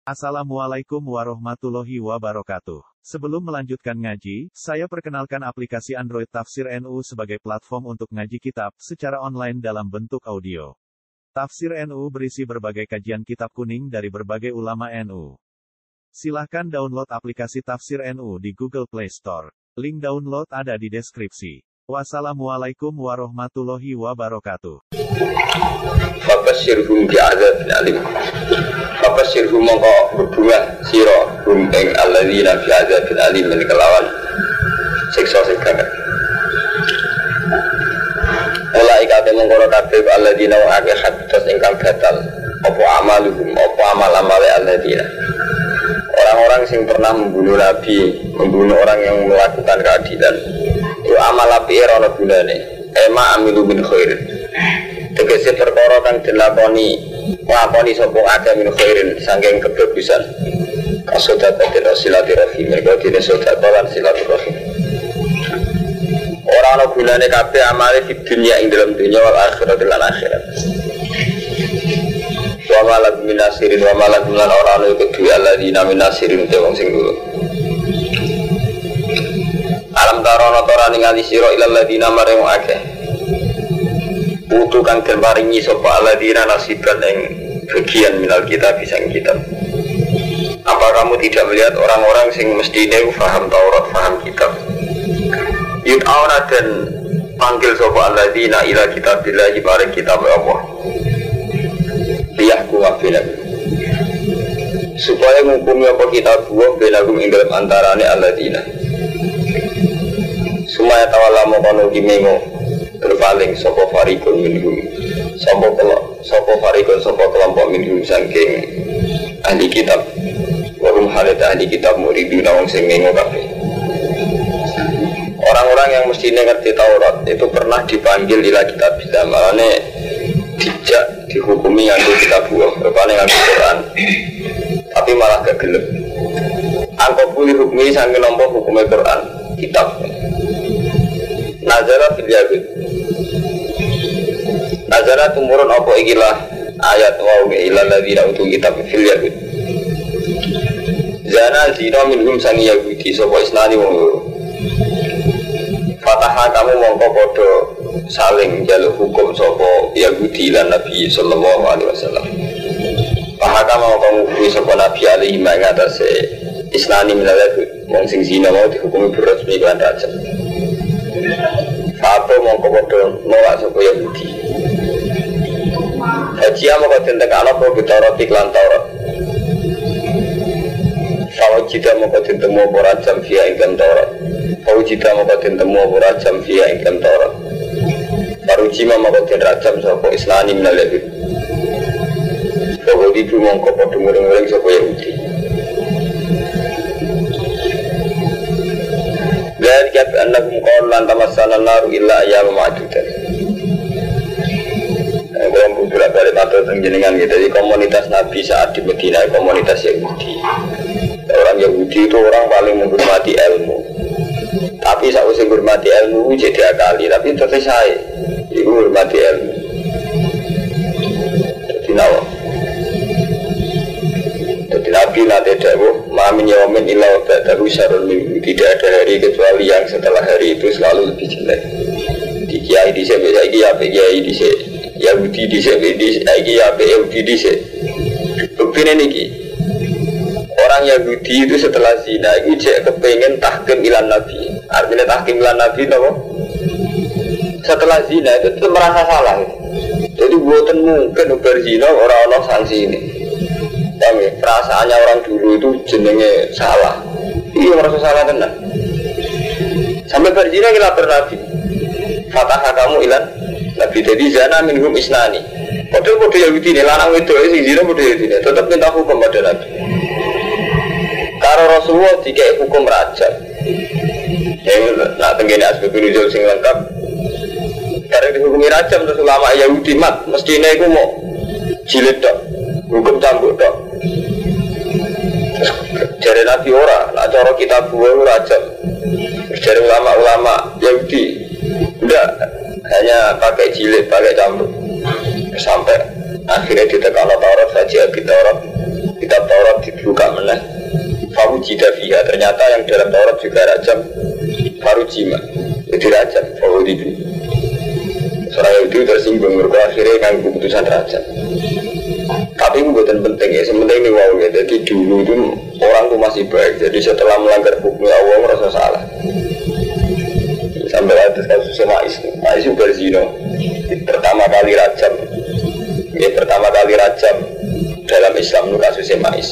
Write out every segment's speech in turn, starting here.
Assalamualaikum warahmatullahi wabarakatuh. Sebelum melanjutkan ngaji, saya perkenalkan aplikasi Android Tafsir NU sebagai platform untuk ngaji kitab secara online dalam bentuk audio. Tafsir NU berisi berbagai kajian kitab kuning dari berbagai ulama NU. Silahkan download aplikasi Tafsir NU di Google Play Store. Link download ada di deskripsi. Wassalamualaikum warahmatullahi wabarakatuh. Fabashirhum bi'adzabin alim. Fabashirhum mongko berbunga sira hum ing alladzina bi'adzabin alim min kelawan siksa sing gagah. Mulai kate mongko kabeh alladzina wa akeh hadas ingkang batal apa amaluhum apa amal-amale alladzina. Orang-orang sing pernah membunuh nabi, membunuh orang yang melakukan keadilan. Itu amal api ora ana gunane. Ema amilu min khairin. Tegese perkara kang dilakoni nglakoni sapa akeh min khairin saking kebagusan. Kasodatan silaturahim mergo dene sedekah silaturahim. Ora ana gunane kabeh amale di dunia ing dalam dunia wal akhirat lan akhirat. Wa malak minasirin wa malak lan ora ana kedue alladzina minasirin te wong sing dulu. Alam tarono torani ngali sira ilal ladina mareng akeh. Putu kang den paringi sapa alladzina nasiban ing bagian minal kitab bisang kitab. Apa kamu tidak melihat orang-orang sing mestine paham Taurat, paham kitab? Yud'auna dan panggil sapa alladzina ila kitabillahi bareng kitab Allah. Liyahku wabina supaya menghukumi apa kitab Allah benagum ing dalam antarane alladzina. Sumaya tawala mongkono kimengo berpaling sapa farikun minhum sapa farikun sapa kelompok minhum saking ahli kitab warum halat ahli kitab muridina wong sing mengo kabeh. Orang-orang yang mestinya ngerti Taurat itu pernah dipanggil ila kitab bila malane dijak dihukumi nganggo kitab Allah rupane nganggo Quran tapi malah gak gelem angko pulih hukumi saking nampa hukume Quran kitab. Nazara fil yahud. Nazara tumurun apa ikilah ayat wa ila ladzina utul kitab fil yahud. Zana zina minhum sang yahudi sapa isnani wong loro. Fataha kamu mongko padha saling njaluk hukum sapa yahudi lan Nabi sallallahu alaihi wasallam. Fahaka mau kamu kuwi sapa Nabi alaihi mengatasi isnani minal yahud wong sing zina mau dihukumi berresmi lan rajam. Apa mongko padha nolak sapa Yahudi. Haji mongko tentang ana apa Taurat iklan Taurat. Fawajida mongko tentang apa rajam via iklan Taurat. Fawajida mongko tentang apa rajam via iklan Taurat. Farujima mongko tentang rajam sapa Islani minal Yahud. Fawajidi mongko padha ngurung-ngurung sapa Yahudi. Dari kata annakum qawlan tamassana naru illa ayyam ma'dudan. Belum beberapa kali tato jenengan gitu. Jadi komunitas Nabi saat di Medina komunitas Yahudi. Orang Yahudi itu orang paling menghormati ilmu. Tapi saat usia menghormati ilmu jadi akali. Tapi terus saya itu menghormati ilmu. Jadi nawa. Jadi Nabi nanti dawuh mamin yawmin illa ba'dahu syarrun minhu. Tidak ada hari kecuali yang setelah hari itu selalu lebih jelek. Di kiai di sini lagi apa kiai di sini Yahudi di sini lagi apa Yahudi di sini. Buktinya niki orang Yahudi itu setelah zina itu cek kepengen tahkim ilan Nabi. Artinya tahkim ilan Nabi apa? Setelah zina itu merasa salah. Jadi buatan mungkin berzina orang-orang sanksi ini. Kami perasaannya orang dulu itu jenenge salah. Iya merasa salah tenang. Sampai berzina kita bernabi. Fataha kamu ilan Nabi jadi zana minhum isnani. Padahal pada Yahudi ini lanang itu sing zina pada Yahudi ini tetap minta hukum pada Nabi. Karo Rasulullah dikai hukum rajam. Yang nak tenggene asbab nuzul sing lengkap. Karena dihukumi rajam terus ulama Yahudi mat mestinya itu mau jilid dok, hukum cambuk dok. Jari Nabi ora, nak cara kita buah rajam. Jari ulama-ulama Yahudi enggak, hanya pakai jilid, pakai cambuk. Sampai akhirnya ditekan Taurat saja, Taurat kitab Taurat dibuka meneh. Fawujida fiha, ternyata yang dalam Taurat juga rajam. Farujima, jadi rajam. Fawudibi. Seorang itu tersinggung, mereka akhirnya kan keputusan rajam. Tapi itu bukan penting ya, sementing ini wow ya. Jadi dulu itu orang itu masih baik. Jadi setelah melanggar hukum Allah merasa salah. Sampai atas kasusnya Mais itu berzino. Pertama kali rajam. Ya, pertama kali rajam dalam Islam itu kasusnya Mais.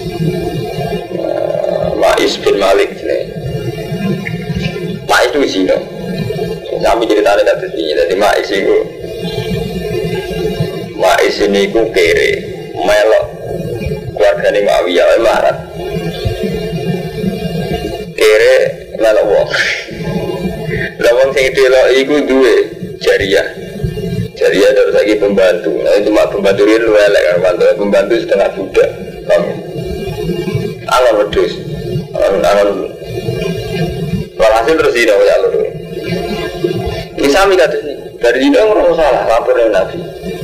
Mais bin Malik ini. Mais itu zino. Kami ceritanya kasus ini. Jadi Mais ini ku kere, melok keluargane Muawiyah marah. Kere melok wong. Lah wong sing delok iku duwe jariah. Jariah terus lagi pembantu. Nah, cuma pembantu ini lu elek kan, pembantu setengah budak. Angon wedhus. Angon. Walhasil terus dino ya lho. Bisa mi kados iki. Dari dino ora salah lapor nang Nabi.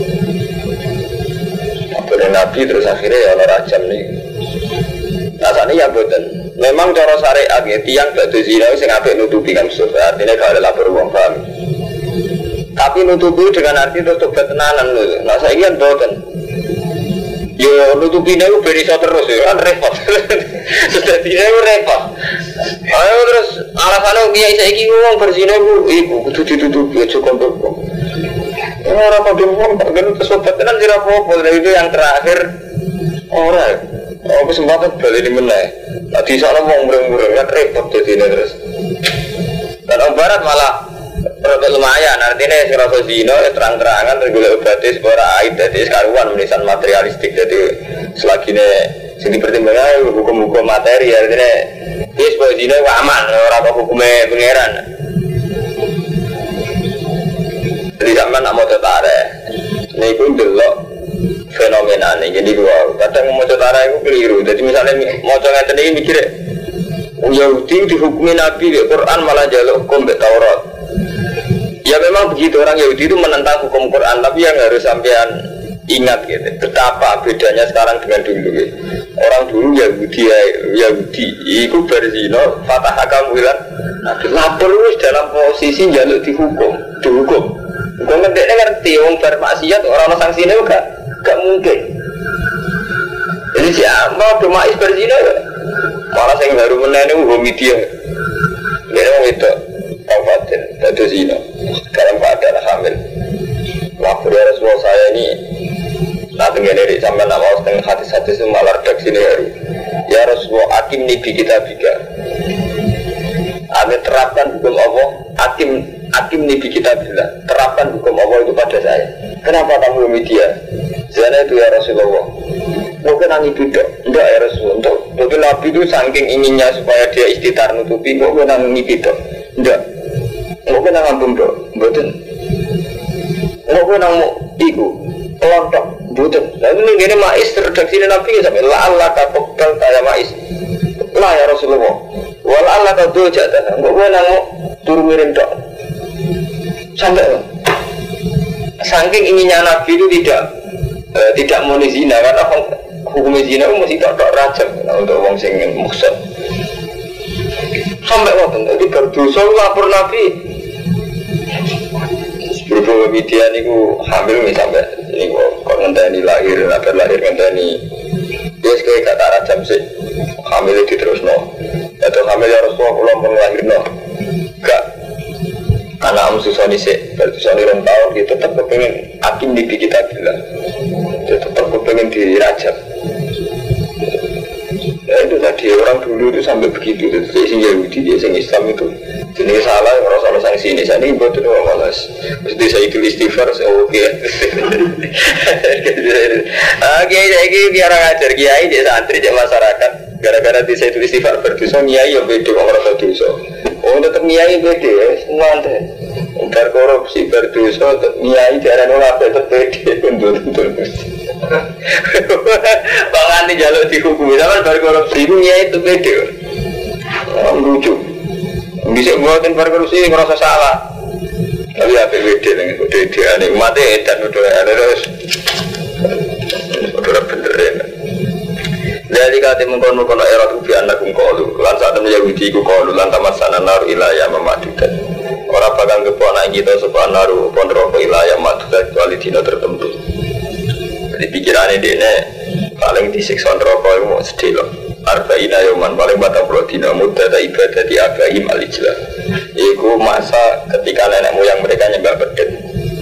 Nabi terus akhirnya ya Allah rajam nih. Rasanya ya betul. Memang cara syariat ya tiang gak ada zina sing apik nutupi kan susah. Artinya gak ada lapor uang paham. Tapi nutupi dengan arti terus tobat tenanan loh. Nah saya ingin betul. Yo nutupi nih beri so terus ya kan repot. Sudah tidak repot. Ayo terus alasannya dia saya ingin uang berzina ibu kudu ditutupi cukup. Orang pada uang tak kena kesobat tenan sih apa-apa. Itu yang terakhir orang. Oh kesempatan balik di mana? Tadi soalnya mau mureng-mureng kan repot jadi ini terus. Dan orang barat malah lumayan. Artinya ngerasa zino terang-terangan tergolong obatis sebuah aid. Jadi sekaruan menisan materialistik. Jadi selagi ini sini pertimbangan hukum-hukum materi. Artinya ini sebuah zino aman. Orang hukumnya pengeran. Jadi sama nak mau tertarik, ini pun delok fenomena ini. Jadi gua kadang mau tertarik itu keliru. Jadi misalnya mau coba ini mikir, Yahudi dihukumi Nabi di Quran malah jaluk hukum Taurat. Ya memang begitu, orang Yahudi itu menentang hukum Quran, tapi yang harus sampean ingat gitu. Betapa bedanya sekarang dengan dulu. Gitu. Orang dulu Yahudi, itu berzino, fatah hakam bilang, Nabi lapor dalam posisi jaluk dihukum. Kau ngerti, orang bermaksiat, orang sanksinya juga gak mungkin. Jadi siapa domais berzina malah saya baru menanam homidia. Dia orang itu kabupaten, itu zina dalam keadaan hamil. Lapor ya Rasulullah saya ini nanti dari sampai nama setengah hati-hati itu malah redaksi ini hari. Ya Rasulullah akim nibi kita biga. Kami terapkan hukum Allah, Hakim nih kita bilang terapkan hukum Allah itu pada saya. Kenapa kamu media? Saya itu ya Rasulullah. Mungkin angin tidak, enggak ya Rasulullah. Untuk Nabi itu saking inginnya supaya dia istitar nutupi, mungkin angin tidak, enggak. Mungkin angin bundok, betul. Mungkin angin iku, pelontok, betul. Lalu ini Mais redaksi Nabi sampai Allah kapokal kayak Mais. Lah ya Rasulullah. Walau Allah kau jatuh, mungkin angin turun miring dok. Sampai saking inginnya Nabi itu tidak mau zina karena hukum zina itu mesti tak rajam untuk orang sing maksud. Sampai waktu itu berdosa lapor Nabi. Sebelum media niku hamil misalnya ini kok ngenteni lahir ngenteni dia sekali kata rajam sih hamil itu terus no atau hamil ya Rasulullah kalau melahir no gak anak susoni sih, susoni orang tahun dia tetap kepengen hakim di kita bilang dia tetap kepengen dirajam. Ya itu tadi orang dulu itu sampai begitu. Jadi si Yahudi dia sing Islam itu jenis salah orang salah sanksi ini. Saya ini buat itu malas. Mesti saya itu istighfar saya oke. Oke saya ini biar ngajar kiai dia santri dia masyarakat. Gara-gara di saya itu istighfar berdosa kiai yang beda orang berdosa. Oh tetap niai beda ya, semua ada. Berkorupsi, berdosa, niai jalan orang tetap beda, bentur-bentur. Bahkan di jalur dihukumi, sama berkorupsi itu niai itu beda. Lucu. Bisa buatin berkorupsi merasa salah. Tapi apa beda dengan beda ini mati dan udah terus. Udah benerin. Dari kata mengkono-kono erat ubi anak qalu lan saat temen Yahudi ku qalu lan tamasana nar ilaya mamadudan. Ora bakal keponak kita sapa naru apa neraka ilaya mamadudan kecuali dina tertentu. Jadi pikirannya dia paling disiksa neraka itu mau sedih loh. Arba'ina yoman paling 40 dina muda ibadah di Abrahim al-Ijlah. Iku masa ketika nenek moyang mereka nyembah bedek.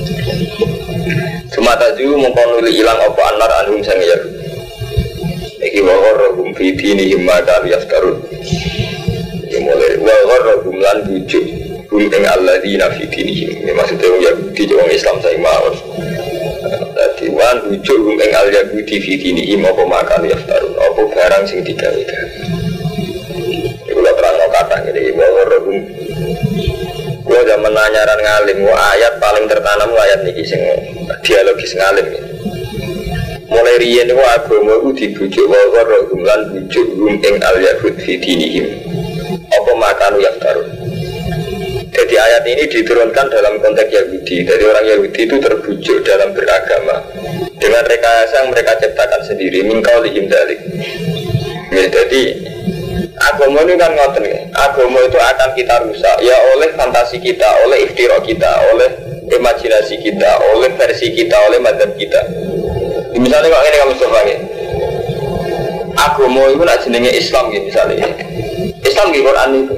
Cuma taju mengkonuli ilang apa anar anhum sang Yahudi. Iki wawar fi dinihim ma kanu yaftarun. Ya mulai wawar lan bujuk hum ing alladzina fi dinihim. Ini maksudnya Yahudi orang Islam saya mawon. Dadi wan bujuk hum ing al-Yahudi fi dinihim apa ma kanu yaftarun. Apa barang sing digawe-gawe. Iku lho terang kata ngene wawar hum. Gua zaman nanyaran ngalim, ayat paling tertanam ayat niki sing dialogis ngalim. Mulai riyen niku agama iku dibujuk wae lan bujuk ing al-yahud fi dinihim. Apa makanu yaftarun. Jadi ayat ini diturunkan dalam konteks Yahudi. Jadi orang Yahudi itu terbujuk dalam beragama dengan rekayasa yang mereka ciptakan sendiri min qaulihim dzalik. Jadi agama ini kan ngoten. Agama itu akan kita rusak ya oleh fantasi kita, oleh iftira kita, oleh imajinasi kita, oleh versi kita, oleh madzhab kita. Misalnya kalau ini kamu coba ya, agama itu nak jenenge Islam gitu misalnya. Islam di Quran itu.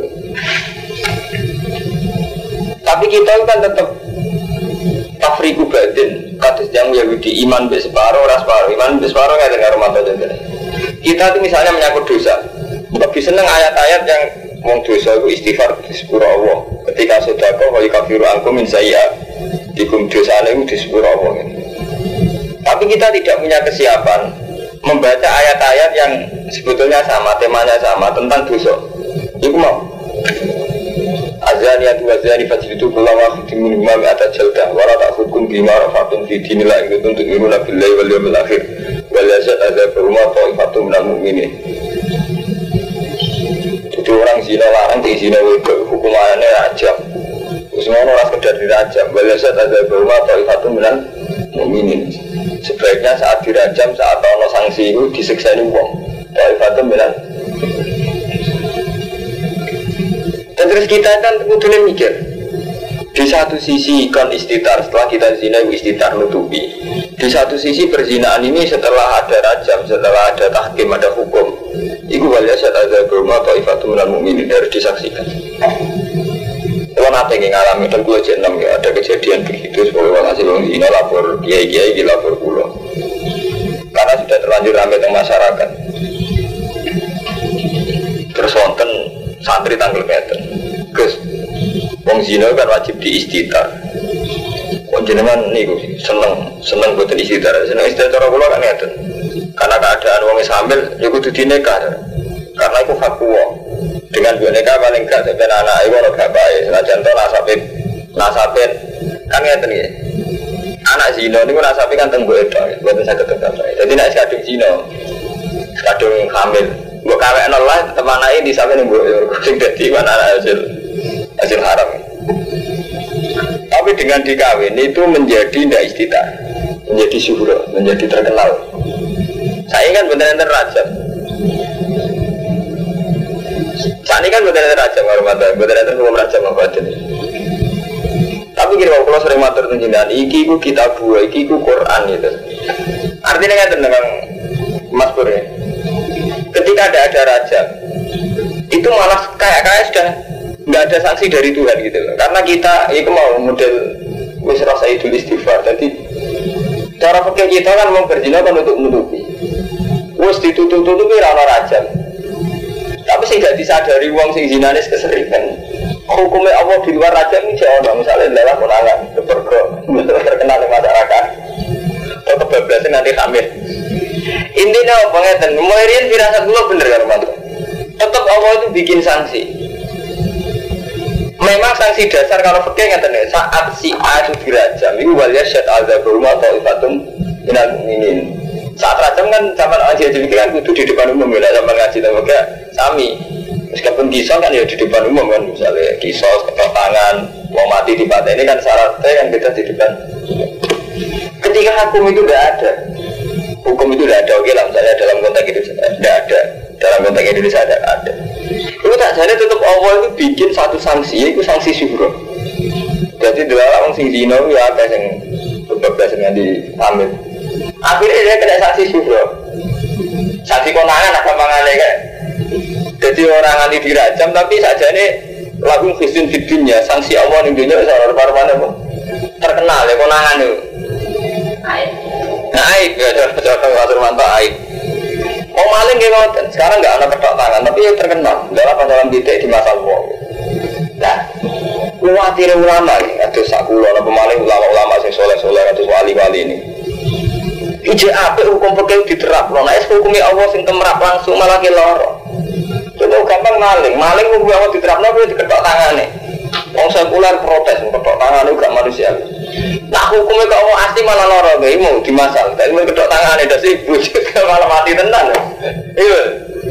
Tapi kita kan tetap tafriqu batin, kados yang Yahudi iman be separuh, ras separuh, iman be separuh nggak dengar mata jenenge. Kita itu misalnya menyangkut dosa, lebih seneng ayat-ayat yang wong dosa itu istighfar di sepura Allah. Ketika sedekah wa yakafiru ankum min sayyi'at, dikum dosane itu di sepura Allah. Tapi kita tidak punya kesiapan membaca ayat-ayat yang sebetulnya sama, temanya sama tentang dosa. Iku mau azaniyatu wazani fajlidu kulla wahidin minhuma mi'ata jaldah wa la ta'khudhukum bima rafatun fi dinillah in kuntum tu'minuna billahi wal yawmil akhir wal yashhad adzabarum ta'ifatun minal mu'minin. Jadi orang zina larang di zina wedok hukumannya rajam. Semua orang sekedar dirajam wal yashhad adzabarum ta'ifatun minal mu'minin. Sebaiknya saat dirajam, saat ono sanksi itu disiksa ini wong. Ta'ifatun minal. Dan terus kita kan kudunya mikir. Di satu sisi kan istitar, setelah kita zina istitar nutupi. Di satu sisi perzinaan ini setelah ada rajam, setelah ada tahkim, ada hukum. Iku waliya saat ada berumah ta'ifatun minal mu'minin harus disaksikan. Kalau nanti ngalami dan gue jenam ya ada kejadian begitu sebagai hasil zina lapor kiai-kiai lapor pulau karena sudah terlanjur ramai tentang masyarakat. Terus wonten santri tanggal keten Gus wong zina kan wajib diistitar. Wong jenengan niku seneng boten istitar. Seneng istitar cara kula kan ngeten. Karena keadaan wong hamil ya kudu dinikah. Karena itu fatwa. Dengan boneka paling gak sampai anak ibu orang gak baik. Senajan to nasabin kan ngeten nggih. Anak zina niku nasabe kan teng mbok edok, mboten saged tetep baik. Dadi nek kadung zina, kadung hamil, mbok kawekno lah teman anake disape ning mbok sing dadi anak hasil haram. Tapi dengan dikawin itu menjadi tidak istitar, menjadi syuhur, menjadi terkenal. Saya kan benar-benar rajam. Saat ini kan benar-benar rajam, benar-benar hukum rajam apa aja nih. Tapi kira kalau sering matur tunjukan, iki ku kitab dua, iki ku Quran gitu. Artinya kan tentang Mas Pur ya. Ketika ada rajam, itu malah kayak sudah nggak ada sanksi dari Tuhan gitu loh. Karena kita itu mau model wis rasa idul istighfar. Jadi cara pikir kita kan mau berzina kan untuk menutupi. Wis ditutup-tutupi rana rajam. Tapi sih tidak disadari uang sing zinanis keseringan. Hukumnya Allah di luar rajam ini jauh. Misalnya lewat menangan kepergok terkenal di masyarakat. Atau kebablasan nanti hamil. Intinya apa ngeten? Mulai firasat dulu bener kan Mas? Tetap Allah itu bikin sanksi. Memang sanksi dasar kalau fikih ngeten ya, saat si A itu dirajam, itu waliya syad al-zabarum atau ifatum minal mu'minin. Saat rajam kan zaman ngaji kan kudu di depan umum ya, zaman ngaji tapi sami. Meskipun kisah kan ya di depan umum kan, misalnya kisah, ketok tangan, mau mati di pantai ini kan syaratnya kan kita di depan. Ketika hukum itu tidak ada, hukum itu tidak ada. Oke lah, misalnya dalam konteks itu tidak ada. Dalam konteks Indonesia tidak ada. Itu tak jadi tetap Allah itu bikin satu sanksi, itu sanksi syukur. Jadi dalam orang sing zina ya ada yang beberapa yang diambil. Akhirnya dia kena sanksi syukur. Sanksi konangan apa mangannya kan? Jadi orang anti dirajam tapi saja ini lagu Kristen fitnya sanksi Allah di dunia seorang parwana terkenal ya konangan itu. Aib ya contoh Mas Surmanto aib. Oh maling gimana? Sekarang nggak ada ketok tangan tapi ya terkenal dalam dalam titik di masa lalu. Nah, khawatir ulama nih, atau sakulo ada pemaling ulama-ulama yang soleh-soleh atau wali-wali ini. IJAP hukum perkara diterap, nah es hukumnya Allah sing kemerap langsung malah keloro. Itu gampang maling hukum Allah diterap, nah diketok tangan nih. Orang sekuler protes ketok tangan itu gak manusia. Nah hukumnya ke Allah asli malah loro, gak mau dimasal. Tapi mau ketok tangan itu sih bujuk malah mati tenan. Iya.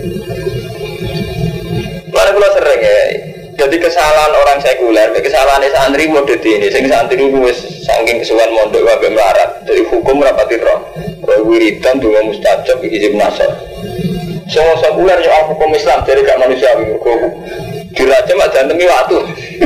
Mana kalau sering ya. Jadi kesalahan orang sekuler, kesalahan santri model ini, sing santri itu saking kesuwan mondok wae melarat. Jadi hukum rapati roh. Kalau wiridan donga mustajab iki hizib nasr. Semua sekuler yo hukum Islam jadi gak manusiawi kok. Dirajam aja demi waktu.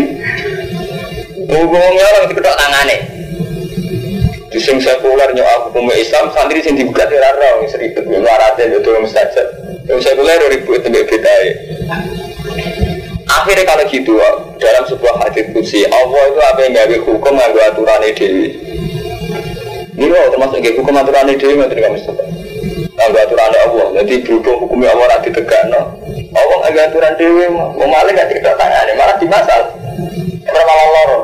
Hukumnya orang diketok tangane. Di sing sekuler yo hukum Islam santri sing dibuka ora roh seribet melarat yo donga mustajab. Yang sekuler ribut tembek bedae. Akhirnya kalau gitu, dalam sebuah hadits qudsi, Allah itu apa yang gawe hukum nganggo aturane dhewe. Ini loh termasuk nggih hukum aturane dhewe ngoten kok Mustafa. Nganggo aturane Allah, jadi berhubung hukumnya Allah ora ditegakno. Allah nganggo aturan dhewe, mau maling gak diketok tangane, malah dimasal. Ora malah loro.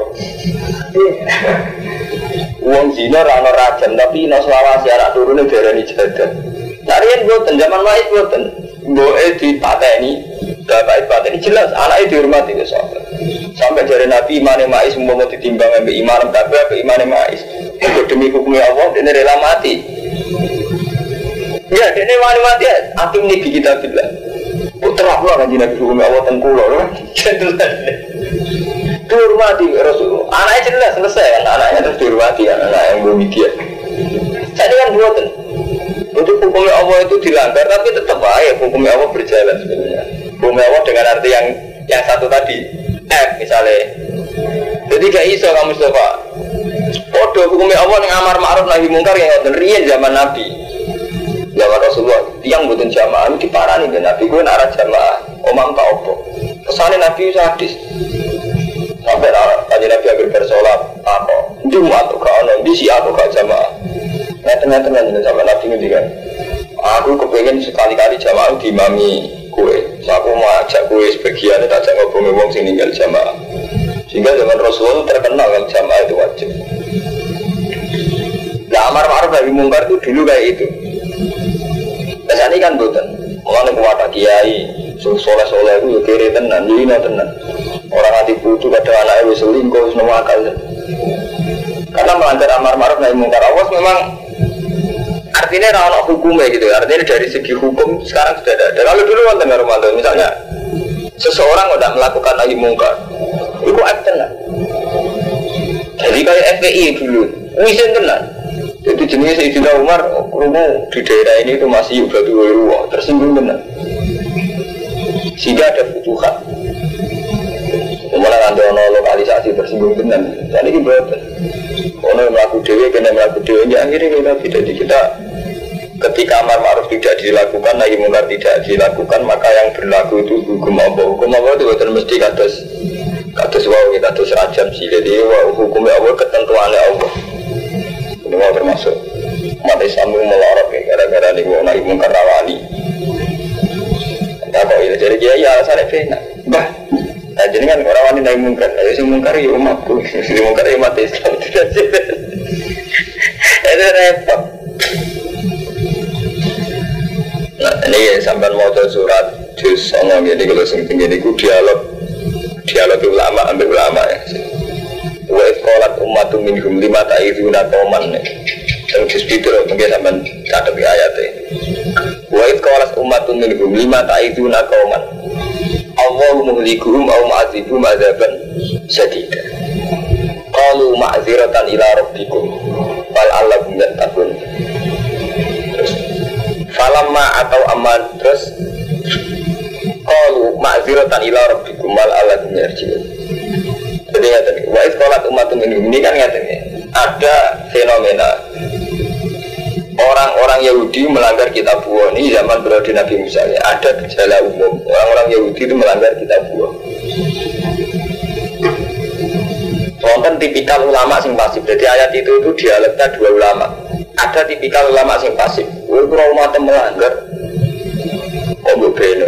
Wong zina ora ana rajam, tapi ana selawase anak turune diarani jadah. Narian boten zaman wae boten. Mboke dipateni bapak itu ini jelas anaknya dihormati ya sahabat. Sampai dari Nabi imane mais mau ditimbang sampai iman kabeh sampai imane mais. Itu demi hukumnya Allah dia rela mati. Ya dia wani mati atim nih kita bilang. Putra Allah kan jinak hukumnya Allah tengkulo loh. Jelas. Dihormati Rasul. Anaknya jelas selesai kan anaknya terus dihormati anak yang belum dia. Jadi kan buatan. Untuk hukumnya Allah itu dilanggar tapi tetap baik hukumnya Allah berjalan sebenarnya. Hukumnya Allah dengan arti yang satu tadi F misalnya. Jadi gak iso kamu Mustafa. Podo hukumnya Allah yang amar ma'ruf nahi mungkar yang ngoten riyen zaman Nabi. Zaman Rasulullah yang mboten jamaah diparani ben Nabi gue nak jamaah. Omam ta opo. Kesane Nabi sadis. Sampai tadi Nabi hampir bersolat apa? Jumat atau kau nanti siapa kau jamaah? Tengah-tengah sama Nabi ini kan. Aku kepengen sekali-kali jamaah diimami kue. So, aku mau ajak kue sebagian tak ajak ngobrol wong sing ninggal jamaah. Sehingga zaman Rasulullah terkenal kalau jamaah itu wajib. Nah, amar ma'ruf nahi mungkar itu dulu kayak itu. Biasanya kan boten. Mulane kuwata kiai, soleh-soleh itu ya kere tenan, lino tenan. Orang hati putu kadang anaknya wis selingkuh, wis akal. Karena melanggar amar ma'ruf nahi mungkar awas memang artinya ada hukumnya gitu. Artinya dari segi hukum sekarang sudah ada. Kalau dulu wonten Romanto misalnya seseorang udah melakukan nahi mungkar, itu tenan. Jadi kayak FPI dulu, wisin tenan. Jadi jenis Sayyidina Umar, rumu di daerah ini itu masih batu ruwah, tersinggung tenan. Sehingga ada futuhat. Kemudian ada lokalisasi tersinggung tenan. Jadi ini betul. Orang melakukan dewi, kena melakukan dewi. Akhirnya kita ketika amar ma'ruf tidak dilakukan, nahi mungkar tidak dilakukan, maka yang berlaku itu hukum Allah. Hukum Allah itu betul mesti kados wau kita kados rajam sih. Jadi hukumnya Allah ketentuannya Allah. Ini mau termasuk umat Islam melorot gara-gara ini nahi mungkar rawani. Tak kok ini jadi kiai alasannya benar. Bah. Nah, jadi kan orang wanita naik mungkar, ayo si mungkar ya umatku, si mungkar ya umat Islam tidak jelas. Itu repot. Nah ini sampai mau surat juz ngomong gini kalau sing gini ku dialog ulama ambil ulama ya. Wa iqalat ummatum minhum lima ta'iduna qauman. Yang juz itu mungkin sampai catat di ayatnya. Wa iqalat ummatum minhum lima ta'iduna qauman. Allahu muhlikuhum aw mu'adzibuhum adzaban syadida. Qalu ma'dziratan ila rabbikum fal allakum yattaqun. Terus falamma atau aman terus qalu ma'ziratan ila rabbikum wal aladun yarji'un. Jadi ngaten wa isqalat ummatun minhum ini kan ngaten ada fenomena orang-orang Yahudi melanggar kitabullah ini zaman periode Nabi Musa ya. Ada gejala umum orang-orang Yahudi itu melanggar kitabullah. Wonten tipikal ulama sing pasif. Jadi ayat itu dialeknya dua ulama. Ada tipikal ulama sing pasif. Kowe ora umat melanggar. Kok mbok beno.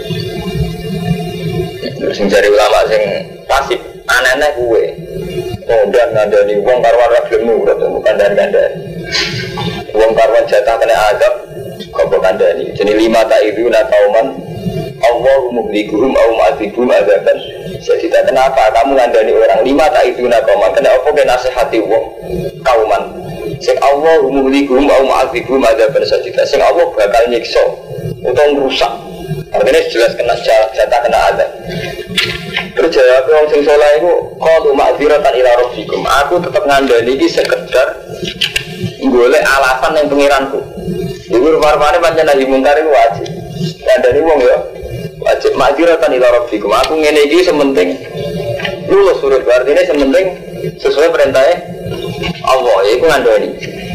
Sing jare ulama sing pasif, aneh-aneh kowe. Ngondan ngandani wong karo ora gelem nurut bukan kandhani. Wong karo jatah kena azab kok kandhani. Jenenge lima ta itu na kauman Allahu muhlikuhum au mu'adzibum adzaban. Jadi kenapa kamu ngandani orang lima tak itu nak kauman? Kenapa kau nasihati wong kauman? Sing Allah muhlikuhum au mu'adzibum adzaban sajida. Sing Allah bakal nyiksa utawa rusak. Artinya jelas kena jatah kena azab. Terus jawab orang sing saleh iku qalu ma'dziratan ila rabbikum. Aku tetap ngandani iki sekedar golek alasan yang pengiranku. Iku rupa-rupane pancen nahi mungkar iku wajib. Ngandani wong ya wajib ma'dziratan ila rabbikum. Aku ngene iki sementing lulus urip artine sementing sesuai perintahnya Allah. Iku ngandani.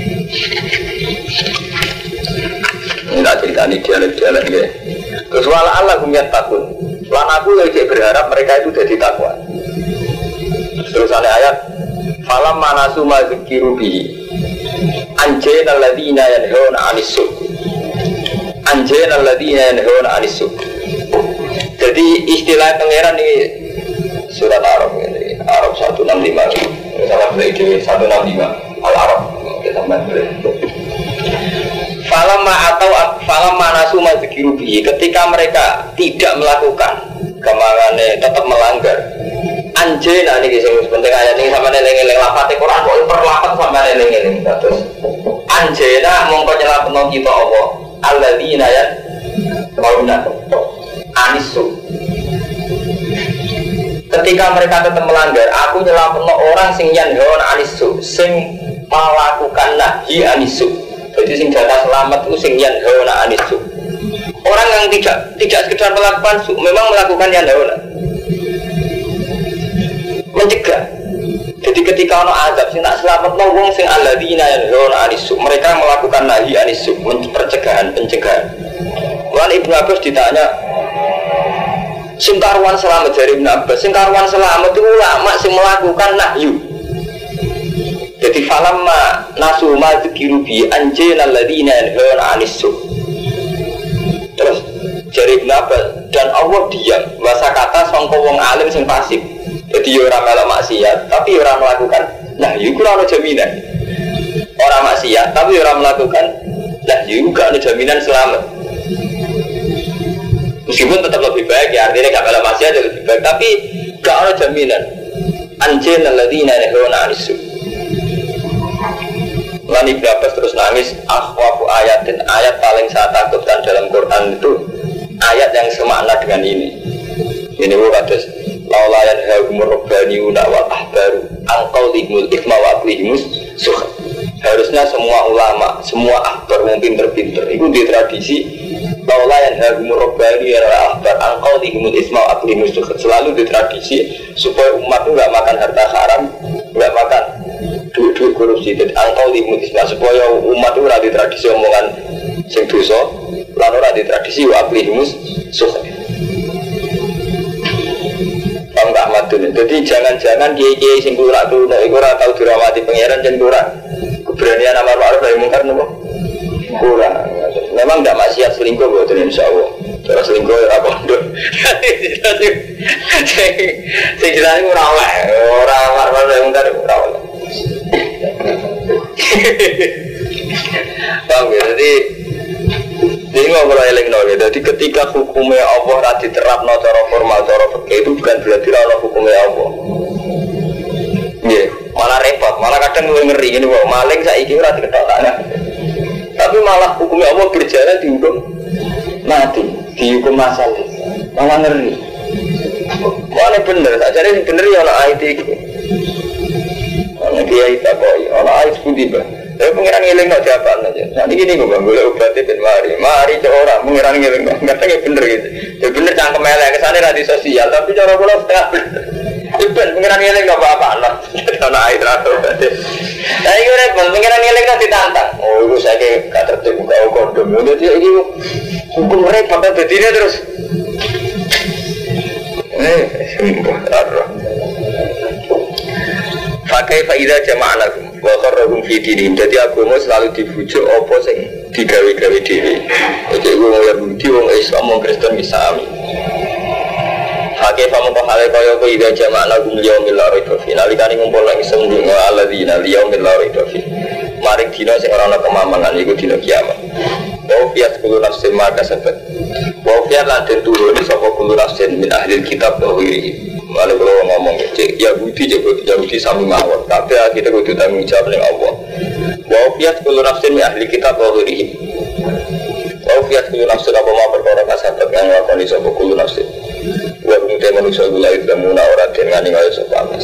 Enggak ceritani dialek-dialek nggih. Terus wala Allah kumyat takun. Lan aku lagi berharap mereka itu jadi takwa. Terus ada ayat falam manasu ma dzikiru bihi anjayna alladziina yanhauna 'anis su'. Anjayna alladziina yanhauna 'anis su'. Jadi istilah pangeran ini surat Arab ini Arab 165. Salah beli 165 Al-Arab kita beli. Falamma nasu ma dzikiru bihi, ketika mereka tidak melakukan kemangane tetap melanggar anjena niki sing penting ayat ini sampe eling-eling lafate Quran kok perlapat sampe eling-eling terus anjena mongko nyelapno kita apa alladzina ya qaulna anisu. Ketika mereka tetap melanggar aku nyelapno orang sing yanhaun anisu sing melakukan nahi anisu. Jadi sing jatah selamat itu sing yanhauna anisu. Orang yang tidak sekedar melakukan su, memang melakukan yanhauna. Mencegah. Jadi ketika ono azab sing tak selametno wong sing alladzina yanhauna anisu, mereka melakukan nahi anisu, pencegahan. Lan Ibnu Abbas ditanya, sing karuan selamat dari Ibnu Abbas, sing karuan selamat itu ulama sing melakukan nahyu. Jadi falamma nasu ma dzikiru bi anjayna alladziina yanhauna 'anis su'. Terus jari Ibnu Abbas dan Allah diam bahasa kata sangka wong alim sing pasif. Jadi ora melok maksiat tapi ora melakukan nah iku ora jaminan. Ora maksiat tapi ora melakukan nah iku gak ada jaminan selamat. Meskipun tetap lebih baik ya artinya gak melok maksiat lebih baik tapi gak ada jaminan. Anjayna alladziina yanhauna 'anis su'. Lan Ibnu Abbas terus nangis, akhwafu ayatin, ayat paling saya takutkan dalam Quran itu ayat yang semakna dengan ini. Ini kados laula yanhahumur rabbaniyuna wal ahbaru an qaulihimul itsma wa aqlihimus suh. Harusnya semua ulama, semua ahbar yang pinter-pinter itu di tradisi laula yanhahumur rabbaniyuna wal ahbar an qaulihimul itsma wa aqlihimus suh. Selalu di tradisi supaya umat itu enggak makan harta haram, enggak makan duit korupsi. Dan angkau limutisme supaya umat itu ada tradisi omongan sing dosa lalu ada tradisi waklihimus suh. Enggak madun. Jadi jangan-jangan kiai-kiai sing kurang tuh ora tahu dirawati pangeran jan kurang keberanian amar ma'ruf nahi mungkar nopo kurang. Memang enggak maksiat selingkuh mboten insyaallah. Cara selingkuh ora pondok. Sing jenenge ora oleh, ora amar ma'ruf nahi mungkar ora oleh. Bang, jadi ini ngobrol eling no. Jadi ketika hukumnya Allah tadi diterapno cara formal, cara fikih itu bukan berarti ora hukumnya Allah. Nggih, malah repot, malah kadang ngeri ngene kok maling saiki ora diketokane. Tapi malah hukumnya Allah berjalan dihukum mati, dihukum masal. Malah ngeri. Mana bener, sajane bener ya ana ayat iki. Ana kiai tak kok ana ayat pundi, Pak. pengiran ngiling no jawaban aja. Nanti gini gue boleh obatnya ben mari orang pengiran ngiling no, ngerti bener gitu. Ya bener cangkem elek kesana radio sosial, tapi cara gue setengah bener. Ben pengiran ngiling no apa lah, karena air atau obatnya. Saya kira pengiran ngiling no ditantang. Oh itu saya kayak kata tertib kau kondom, udah dia ini hukum mereka pada betinya terus. Pakai faedah jama'anakum wa qarrahum fi dinihim. Jadi agama selalu dibujuk apa sing digawe-gawe dhewe. Jadi wong Yahudi, wong Islam, wong Kristen misami. Pakai pamongko hale kaya apa ida jama'anakum liyaumil la raiba fi. Nalikane ngumpul nang sembunyi alladzina liyaumil la raiba fi. Mari dina sing ora ana kemamangan iku dina kiamat. Wa fiat kullu nafsin ma kasabat. Wa fiat lan turun sapa kullu nafsin min ahli kitab wa ghairihi. Kalau kalau ngomong cek Yahudi sami mawon, tapi kita kudu tanggung jawab dengan Allah. Wafiyat kullu nafsin min ahli kitab wa ghairihi. Wafiyat kullu nafsin apa mau perkara kasabat yang lakoni sapa kullu nafsin. Wa kumte manusia gula itu muna ora den ngani kaya sapa mas.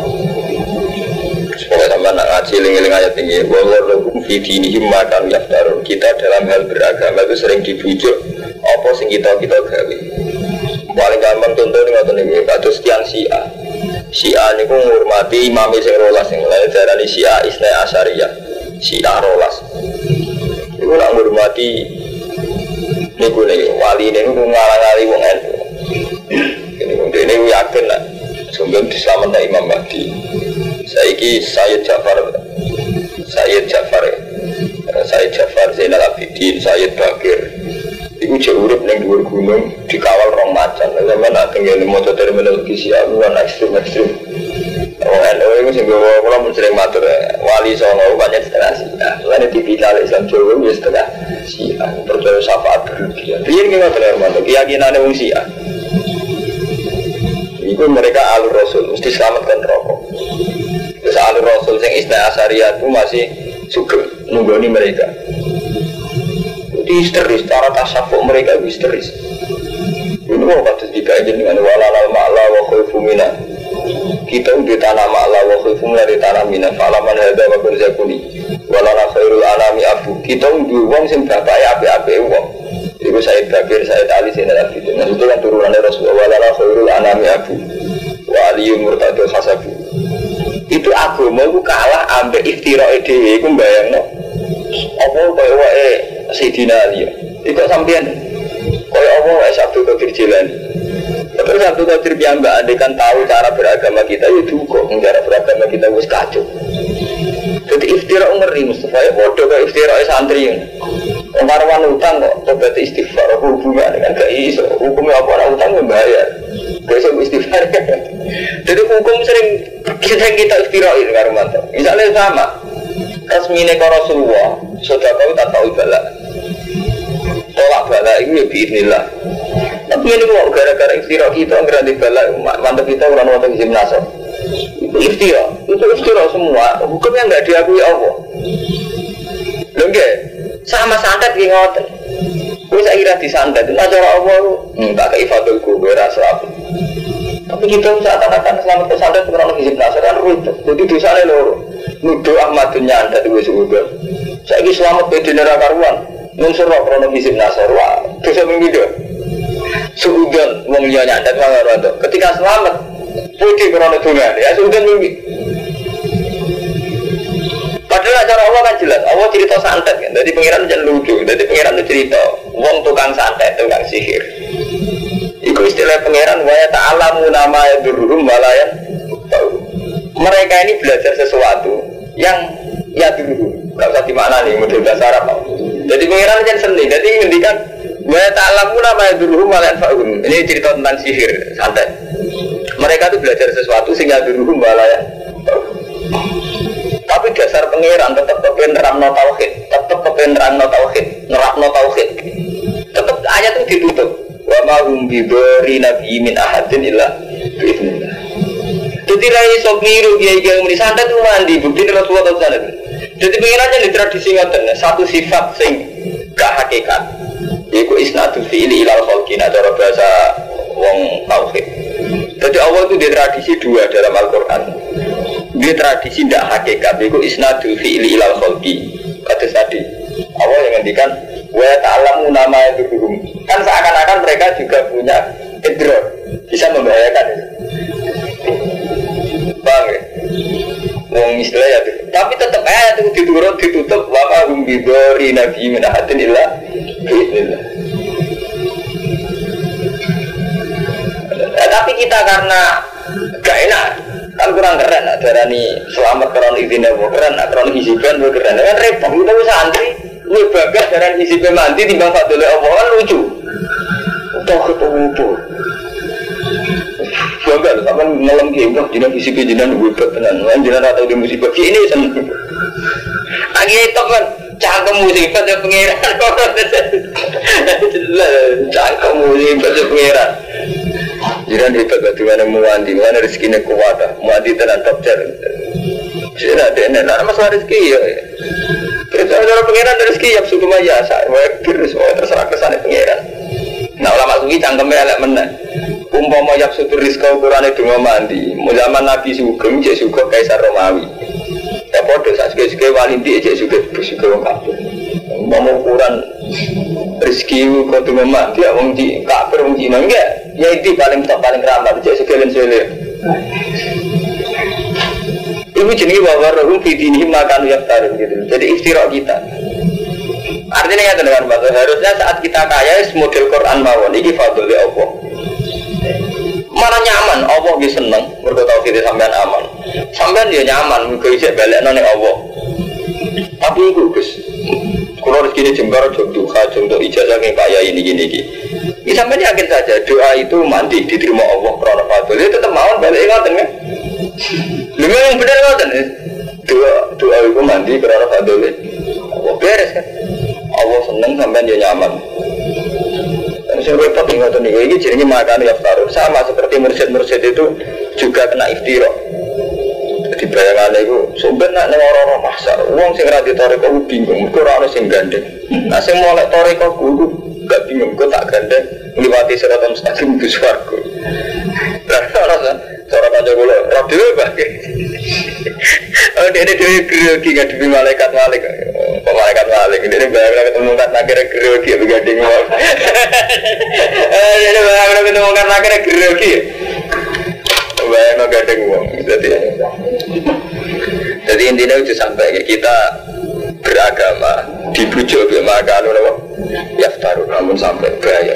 Supaya sampean nak ngaji eling-eling ayat ini, wa lakum fi dinihim ma kan yaftarun. Kita dalam hal beragama itu sering dibujuk apa sing kita gawe. Paling gampang contoh ini ngoten iki, kados tiyang Syiah niku ngurmati imam sing 12 sing lain darani Syiah Isnai Asyariyah. Syiah 12. Iku nak ngurmati niku wali niku ngalang-ali wong NU. Dene yakin lah sumber diselametkan Imam Mahdi. Saiki Sayyid Ja'far Zainal Abidin, Sayyid Bakir. Iku jauh urip ning dhuwur gunung dikawal rong macan. Sampeyan nak tenggene maca terminologi Syiah luwih ekstrem. Wong NU iku sing kula mun sering matur wali songo banyak setengah Syiah. Lan tipikal Islam Jawa wis setengah Syiah. Percaya syafaat berlebihan. Piye iki ngoten Hermanto? Keyakinane wong Syiah. Iku mereka alur Rasul mesti selamatkan rokok. Terus alur Rasul sing Isnai Asyariyah itu masih sugeng nunggoni mereka. Histeris, cara tasawuf mereka histeris. Ini mau kata dikaitkan dengan walalal ma'la wa khaifu mina. Kita di tanah ma'la wa khaifu mina di tanah mina. Falaman hadha wa berzakuni walala khairul anami abu. Kita di uang sing bapaknya api-api uang. Itu Sayyid Bakir, Sayyid Ali, Sayyid Al-Abidin. Itu kan turunannya Rasulullah. Walala khairul anami abu wa aliyum murtadul khasabu. Itu agama itu kalah ambek iftira'i dewe. Itu bayangnya apa kaya Sayyidina Ali itu sampean kaya apa Sabtu Qadir Jilani. Tapi Sabtu Qadir piyambak andekan tahu cara beragama kita ya duka, cara beragama kita wis kacau. Jadi iftira ngeri Mustafa ya bodoh kaya iftira santri. Marwan utang kok tobat istighfar hubungan dengan gak iso. Hukumnya apa orang utang membayar. Besok istighfar. Jadi hukum sering kita iftirain karo mantan. Misalnya sama resmine ka Rasulullah, sedekah tak tahu balak. Tolak balak itu ya biidznillah. Tapi ini kok gara-gara iftira kita nggak ada balak, mantap kita orang wonten gimnas. Itu iftira semua. Hukumnya nggak diakui Allah. Lengge, sama santet ki ngoten. Kuwi sak kira disantet, nah cara Allah tak kei fadl kubur asraf. Tapi kita seakan-akan selamat pesantren kurang lebih penasaran rute. Jadi dosanya loro. Nuduh Ahmadun nyandat itu sudah. Saya ini selamat beda neraka karuan. Nunsur roh kurang lebih penasaran. Wah, dosa minggu. Suudan wong liya nyandat mangarondo. Ketika selamat, putih kurang lebih ya suudan minggu. Padahal cara Allah kan jelas. Allah cerita santet kan. Jadi pengiran jangan lucu. Jadi pengiran itu cerita. Wong tukang santet, tukang sihir. Itu istilah pangeran wa ta'alamu nama yadurrum walayan. Mereka ini belajar sesuatu yang yadurrum. Enggak usah dimaknani model bahasa Arab. Jadi pangeran jangan seni. Jadi ngendikan wa ta'alamu nama yadurrum walayan fa'un. Ini cerita tentang sihir santet. Mereka itu belajar sesuatu sing yadurrum walayan. Tapi dasar pangeran tetap kepen nerangno tauhid, tetap kepen nerangno tauhid, nerapno tauhid. Tetap ayat itu ditutup. Wa ma hum bidari nabi min ahadin illa bi'idznillah. Jadi rai sok niru kiai-kiai muni santet itu mandi bukti Rasulullah sallallahu. Jadi pengirannya di tradisi ngoten satu sifat sing gak hakikat. Iku isnadul fi'li ila khalqina cara bahasa wong tauhid. Jadi Allah itu di tradisi dua dalam Al-Qur'an. dia tradisi tidak hakikat itu isnadul fi'li ilal khalqi. Kata tadi Allah yang ngendikan wa ta'lamu nama itu kan seakan-akan mereka juga punya idror bisa membahayakan itu. Paham ya? Wong istilah ya itu. Tapi tetap ayat itu ditutup wa ma hum bidori nabi min ahadin illa bi'idznillah. Tapi kita karena gak enak kan kurang keren lah darani selamat karena izinnya keren karena hisiban keren kan repot kita santri lu bagas darani hisiban mandi timbang fadlul Allah kan lucu udah ketemu bangga loh sama ngelam gembok jinak hisiban jinak hebat tenan jinak atau di musibah ini seneng lagi itu kan cangkem musibah ya pengiran cangkem musibah ya pengiran. Jiran hebat bagaimana muandi, mana rezekinya kuat, muandi tenan top jar. Jadi ada enak, masalah rezeki ya. Kita orang pengiran rezeki ya suku maya, saya terus terserah kesana pengiran. Nah ulama suki cangkemnya elek menang. Umpama yak sutur rizka ukurane donga mandi, zaman Nabi Sugeng cek Sugeng Kaisar Romawi. Ya podo sak suke-suke walindi cek Sugeng wong kafir. Umpama ukuran rezeki kok donga mandi ya wong di kafir wong Cina enggak. Ya itu paling top paling ramah cek sekelen-sekelen. Ibu jenenge bahwa rohum fitini makan yaftarun gitu. Jadi istirak kita. Artinya ya dengan bahasa harusnya saat kita kaya model Quran mawon iki fadhole Allah. Mana nyaman Allah ge seneng mergo tauhid sampean aman. Sampean dia nyaman mergo isih balekno ning Allah. Tapi iku Gus. Kalau rezeki jembar duha contoh ijazah ning kaya ini gini. Ini sampean yakin saja doa itu mandi diterima Allah karena fadhole tetep mawon balik ngoten kan. Lha yang bener ngoten. Doa itu mandi karena fadhole. Allah beres kan. Allah seneng sampean dia nyaman. Saya repot ingat nih, ini jadinya makan yaftarun sama seperti mursyid-mursyid itu juga kena iftirah. Jadi bayangannya itu sebenarnya nih orang-orang pasar, uang sing rati toriko bingung, kurang ada sing gandeng. Nah sing molek toriko guru gak bingung, gue tak gandeng melewati seratan mustaqim ke swarga. Nah cara baca gue radio bagai. Oh dia grogi gak demi malaikat malaikat malik ini bayangkan ketemu kan akhirnya grogi begading mau ini bayangkan ketemu kan akhirnya grogi bayangkan gading mau jadi intinya itu sampai kita beragama dibujuk makan yaftarun namun sampai bahaya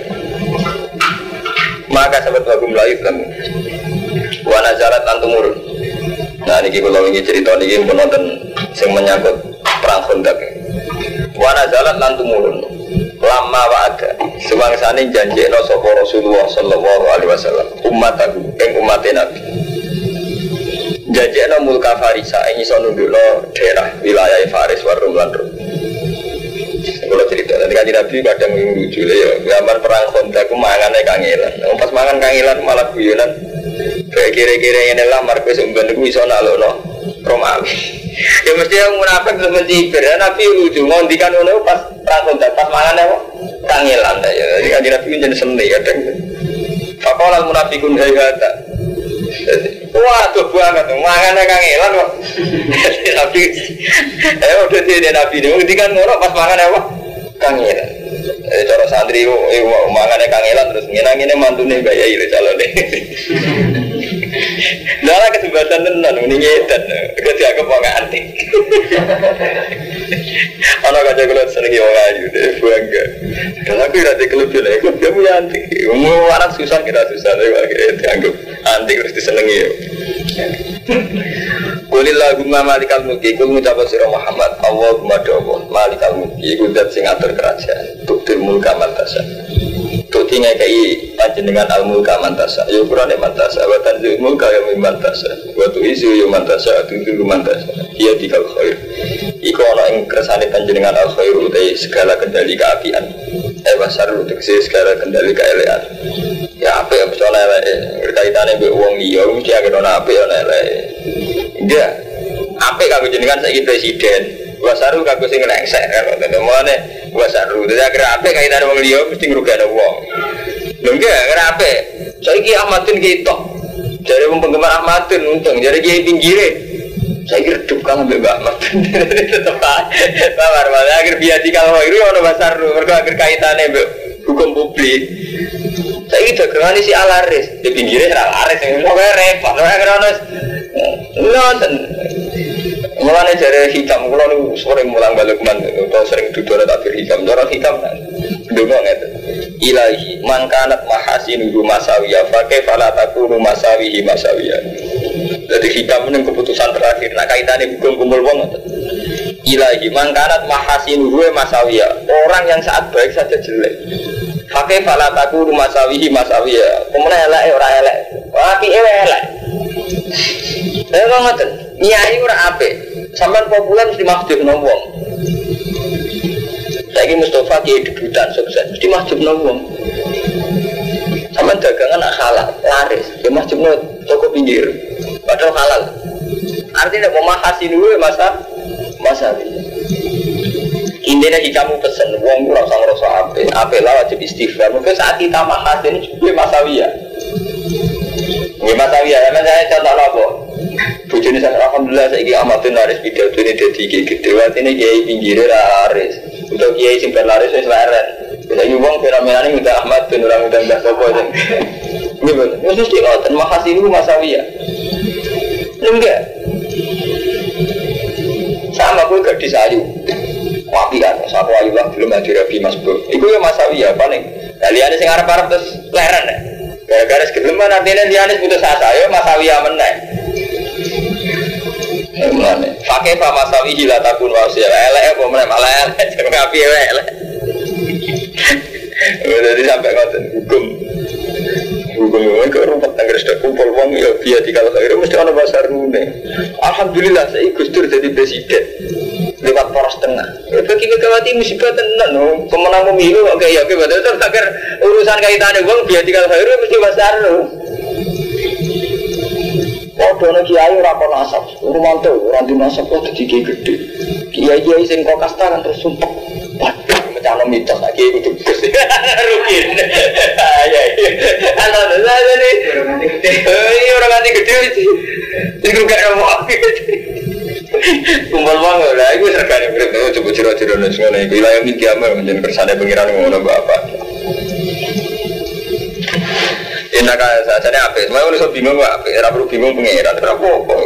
maka sahabat bagus melayu kamu wana jarat antumurun. Nah ini kalau ingin cerita ini penonton yang menyangkut perang Khandaq. Wana jalan lantumurun lama wa'ada sebangsane janjekno sapa Rasulullah sallallahu alaihi wasallam ummataku ing ummate Nabi. Janjekno mulka Farisa ing iso nundukno daerah wilayah Faris wa Rum lan Rum. Kalau cerita nanti kan Nabi kadang lucu ya gambar perang Khandaq ku mangane kangelan. Pas mangan kangelan malah guyonan. Kayak kira-kira ini lah markus umban itu bisa nalono Romawi. Ya mesti yang munafik terus mencibir. Nabi lucu ngondikan ono pas rangkul pas mangan apa kangelan ya. Jadi kan Nabi jadi seni ya deng. Faqala munafiqun hayata. Wah tuh banget mangannya kangelan kok. Nabi udah dia Nabi ini ngondikan ono pas mangan apa kangelan. Cara santri mangannya kangelan terus ngenang-ngenang mantune bayai lho calone. Dalam kesempatan tenan ini nyedan kerja kepongan antik. Anak aja kalau seneng wong ayu deh bangga. Dan aku nanti kelebihan aku dia punya antik. Mau anak susah kita susah deh akhirnya dianggap antik harus disenengi. Qulillahumma malikal mulki kul ngucap sira Muhammad Allahumma Allah malikal mulki iku zat sing atur kerajaan tuktir mulka mantasa tuti ngekei panjenengan al mulka mantasa ya kurane mantasa wa tanzil mulka ya mantasa wa tuizu ya mantasa tuti mantasa iya dikal khair iku ana ing kersane panjenengan al khair utai segala kendali keapian basar utek segala kendali keelekan ya apa ya mesti ana eleke berkaitane mbek wong liya mesti agek ana apik ana eleke. Enggak, apa kanggo jenengan saiki presiden? Wasaru kanggo sing ngengsek kalau tetemane wasaru. Dadi akhir apa kaitane wong liya mesti ngrugekno wong. Lho enggak, akhir apa? Saiki Ahmadin ketok. Jare wong penggemar Ahmadin untung, jare kiai pinggire Saya kira redup kan ambek Mbak Ahmad. Tetep sabar malah akhir biadi kalau itu ono besar mergo akhir kaitane mbek hukum publik. Saya kira dagangan si alaris di pinggirnya alaris yang mau repot. Saya kira nonton. Mulane jare hikam kula niku sering mulang balik man utawa sering duduk takbir hikam. Cara hikam ndonga ngeten. Ilahi man kanat mahasinuhu masawiya fa kaifa la takunu masawihi masawiya. Jadi hikam ning keputusan terakhir nak kaitane hukum kumpul wong ngoten. Ilahi man kanat mahasinuhu masawiya. Orang yang saat baik saja jelek. Fa kaifa la takunu masawihi masawiya. Kemana elek ora elek. Apike elek. Lha kok ngoten. Nyai ora apik. Sampeyan populer mesti mahjubno wong. Saiki Mustafa ki debutan sukses mesti mahjubno wong. Sampeyan dagangan halal, laris, ya mahjubno toko pinggir. Padahal halal. Artinya pemahasin dulu masa intinya kamu pesen wong ora usah ngrasa apik lah wajib istighfar. Mungkin saat kita mahasin juga masawiya. Nggih masawiya, saya contoh apa? Bujune sak alhamdulillah saiki amatin laris pidatone dadi gede. Artine kiai pinggire laris. Untuk kiai sing laris wis leren. Saiki wong fenomenane udah Ahmad ben ora udah enggak sapa sing. Nggih, wis mesti ngoten mahasinu masawiya. Enggak. Sama gue gadis ayu. Wapi kan, satu ayu lah belum ada Rabi Mas Bro. Iku ya masawiya paling. Kalian sing arep-arep terus leren ya. Gara-gara segeleman artinya liane putus asa ya masawiya meneh. Mulane pakai fa masawi la takun wasiya elek apa meneh malah elek jangan api elek. Jadi sampai ngoten hukum ke rumah tangga sudah kumpul wong ya biar dikala kira mesti ana pasar rune. Alhamdulillah saya Gus Dur jadi presiden lewat poros tengah. Bagi Megawati musibah tenan pemenang pemilu oke ya oke betul agar urusan kaitannya wong biar dikala kira mesti pasar lu. Padahal kiai ora kono asap, rumanto ora di nasab kok dadi gede. Kiai-kiai sing kok kasta kan terus sumpek. Waduh, mencalon mitos lagi kudu gus. Rukin. Ya. Alhamdulillah ini. Iya ora ganti gede iki. Iku gak ono. Kumpul wong lha iku regane berapa coba ciro-ciro nek ngono iki wilayah iki amal menjen kersane pengiran ngono bapak. Enak aja, saya apa? Semua orang so bingung apa? Era perlu bingung pengeran, kenapa?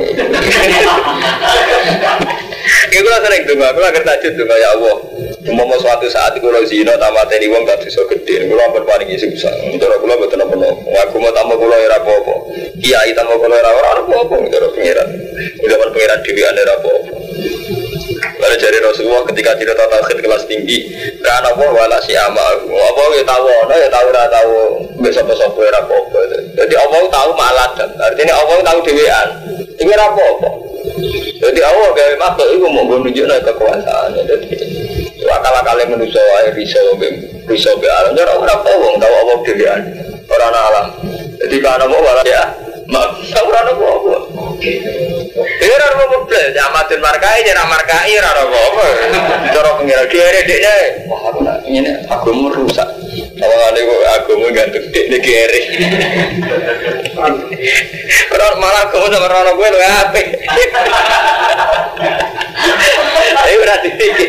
Kita lah sering dengar, kita akan tajud dengar ya Allah. Mau suatu saat kalau zina tamat ini uang tak bisa gede, kalau apa paling isi besar. Cara kalau betul apa? Aku mau tambah kalau era apa? Kiai tambah kalau era orang apa? Cara pengeran, zaman pengeran dewi ada apa? Lalu dari Rasulullah ketika cerita tauhid kelas tinggi, karena apa wala si amal, apa ya tahu, ya tahu dah tahu, besok era apa? Jadi Allah tahu maladan, artinya Allah tahu dewean, ini apa? Jadi Allah gawe makhluk itu mau menunjukkan kekuasaan. Jadi akal-akal manusia risau be alam, jadi orang apa? Tahu Allah dewean, orang alam. Jadi karena apa wala ya, mak orang apa? Dia orang mau beli, amatin markai, jangan markai, orang apa? Cara pengira kiri deknya, wah aku nak ini aku mau rusak. Kalau ada aku mau gantung deknya kiri. Kalau malah aku sama orang gue lu apa? Ayo berarti dikit.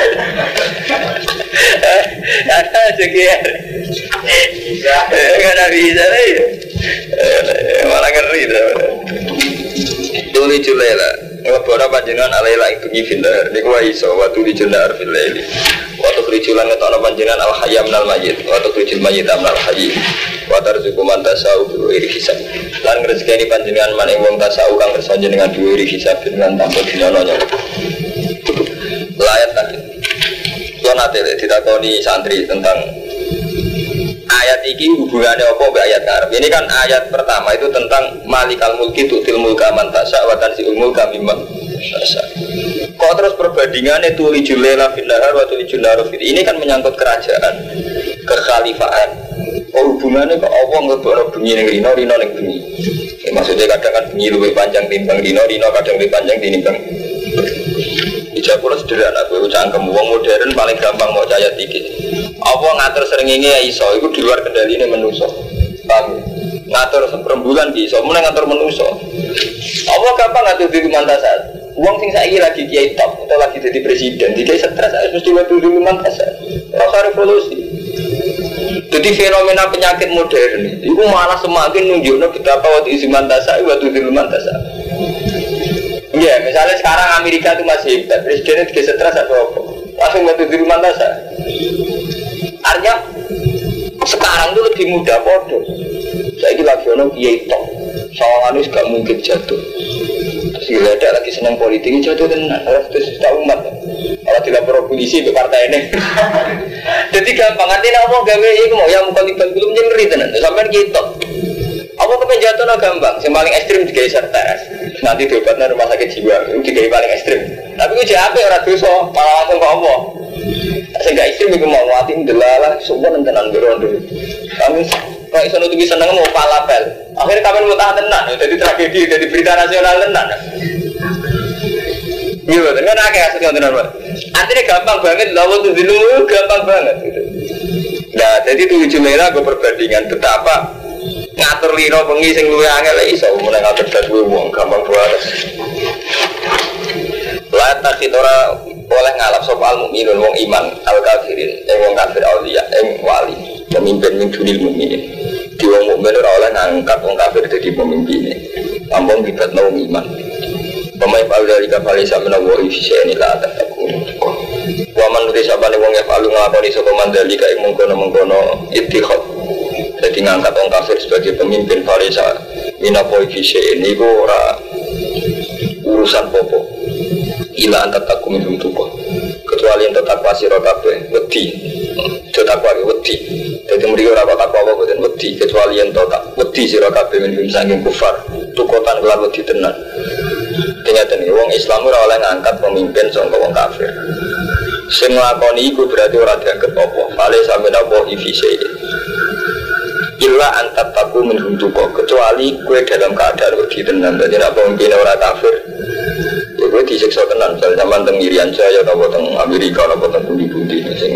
Ada sekian. Karena bisa nih. Malah ngeri dah. Tuli Julela, ngabora panjenengan alaila ing bengi filar. Niku wae iso watu dijenar fil laili. Watu krijulan ngetokno panjenengan al hayy minal mayyit, watu krijul mayyit minal hayy. Wa tarzuqu man tasau bi ghairi hisab. Lan rezekine panjenengan man ing wong tasau kang kersa jenengan bi ghairi hisab dengan tanpa dinyono. Layat tadi. Yo nate ditakoni santri tentang ayat ini hubungannya apa ke ayat Arab? Ini kan ayat pertama itu tentang malikal mulki tu'til mulka man tasya wa tanzi'ul mulka mimman tasya. Kok terus perbandingannya tulijul laila fil nahar wa tulijul nahar fil. Ini kan menyangkut kerajaan, kekhalifaan. Oh hubungannya kok Allah ngeboro bengi ning rino ning bengi. Maksudnya kadang kan bengi luwih panjang timbang rino kadang luwih panjang timbang. Ijabul sederhana kowe cangkem wong modern paling gampang mau ayat iki. Apa ngatur srengenge ya iso, iku di luar kendhaline manusa. Paham? Ngatur rembulan ki iso, mun ngatur manusa. Allah gampang ngatur diri mantasat. Uang sing saiki lagi kiai top atau lagi jadi presiden, dikai stres harus mesti ngatur diri mantasat. Rasa revolusi. Jadi fenomena penyakit modern itu malah semakin nunjukno betapa waktu isi mantasat, waktu diri mantasat. Iya, misalnya sekarang Amerika itu masih hebat, presidennya dikai stres atau apa? Langsung waktu diri mantasat. Artinya sekarang itu lebih mudah bodoh. Saya ini lagi orang kiai top, soalnya gak mungkin jatuh. Terus gila ada lagi senang politik jatuh tenan, harus terus tahu umat. Kalau tidak pro polisi ke partai ini. Jadi gampang artinya apa gawe itu mau yang muka libat belum nyeri tenan. Sampai kiai top. Apa kepen jatuh lah gampang. Yang paling ekstrim digawe sertas. Nanti diobatnya rumah sakit jiwa itu digawe paling ekstrim. Tapi gue jadi orang dosa, malah langsung ke apa? Sehingga ekstrim itu mau mati delalah semua tenan berondo. Kami kalau iso nutupi seneng mau palapel. Akhirnya kapan mau tahan tenan, jadi tragedi, jadi berita nasional tenan. Iya, kan akeh asli tenan, Pak. Artinya gampang banget, lawan tuh dulu gampang banget gitu. Nah, jadi 7 merah gue perbandingan betapa ngatur lino bengi sing luwih angel iso mulai ngatur dadi wong gampang banget. La takhidora oleh ngalap sapa al mukminun wong iman al kafirin wong kafir auliya wali pemimpin min dunil mukminin di wong mukmin ora oleh ngangkat wong kafir dadi pemimpine ampun dibatno wong iman pemain dari kapal isa menawa isi ini lah takku wa man sabane wong ya palu nglakoni sapa mandali kae mengkono ittikhad dadi ngangkat wong kafir sebagai pemimpin Farisa minapo isi ini ora urusan popo ila antar takku minum tubuh kecuali yang tetap pasir kabeh wedi tetap lagi wedi jadi mereka ora takwa apa boten wedi kecuali yang tetap wedi sira kabeh minum saking kufar tukotan kelar wedi tenan ternyata nih wong Islam ora oleh ngangkat pemimpin saka wong kafir sing nglakoni iku berarti ora dianggap apa fale sampeyan apa ifise illa antar takku minum tubuh kecuali kue dalam keadaan wedi tenan dadi nek pemimpin ora kafir gue disiksa tenan, misalnya zaman teng Irian Jaya atau teng Amerika atau teng budi-budi sing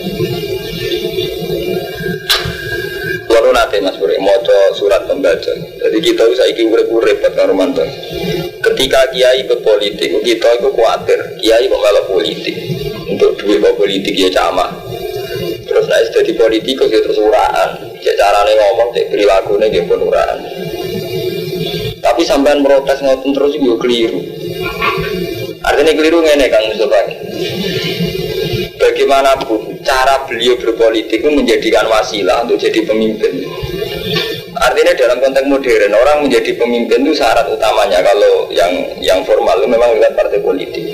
lalu nanti Mas Puri moco surat pembaca jadi kita saiki urip-urip karo mantan ketika kiai berpolitik kita itu khawatir kiai kok politik untuk duit politik ya camah terus naik jadi politikus ya terus uraan ya caranya ngomong cek perilakunya ya pun uraan tapi sampean protes ngoten terus juga keliru. Artinya keliru ngene Kang Mustafa. Bagaimanapun cara beliau berpolitik itu menjadikan wasilah untuk jadi pemimpin. Artinya dalam konteks modern orang menjadi pemimpin itu syarat utamanya kalau yang formal itu memang lewat partai politik.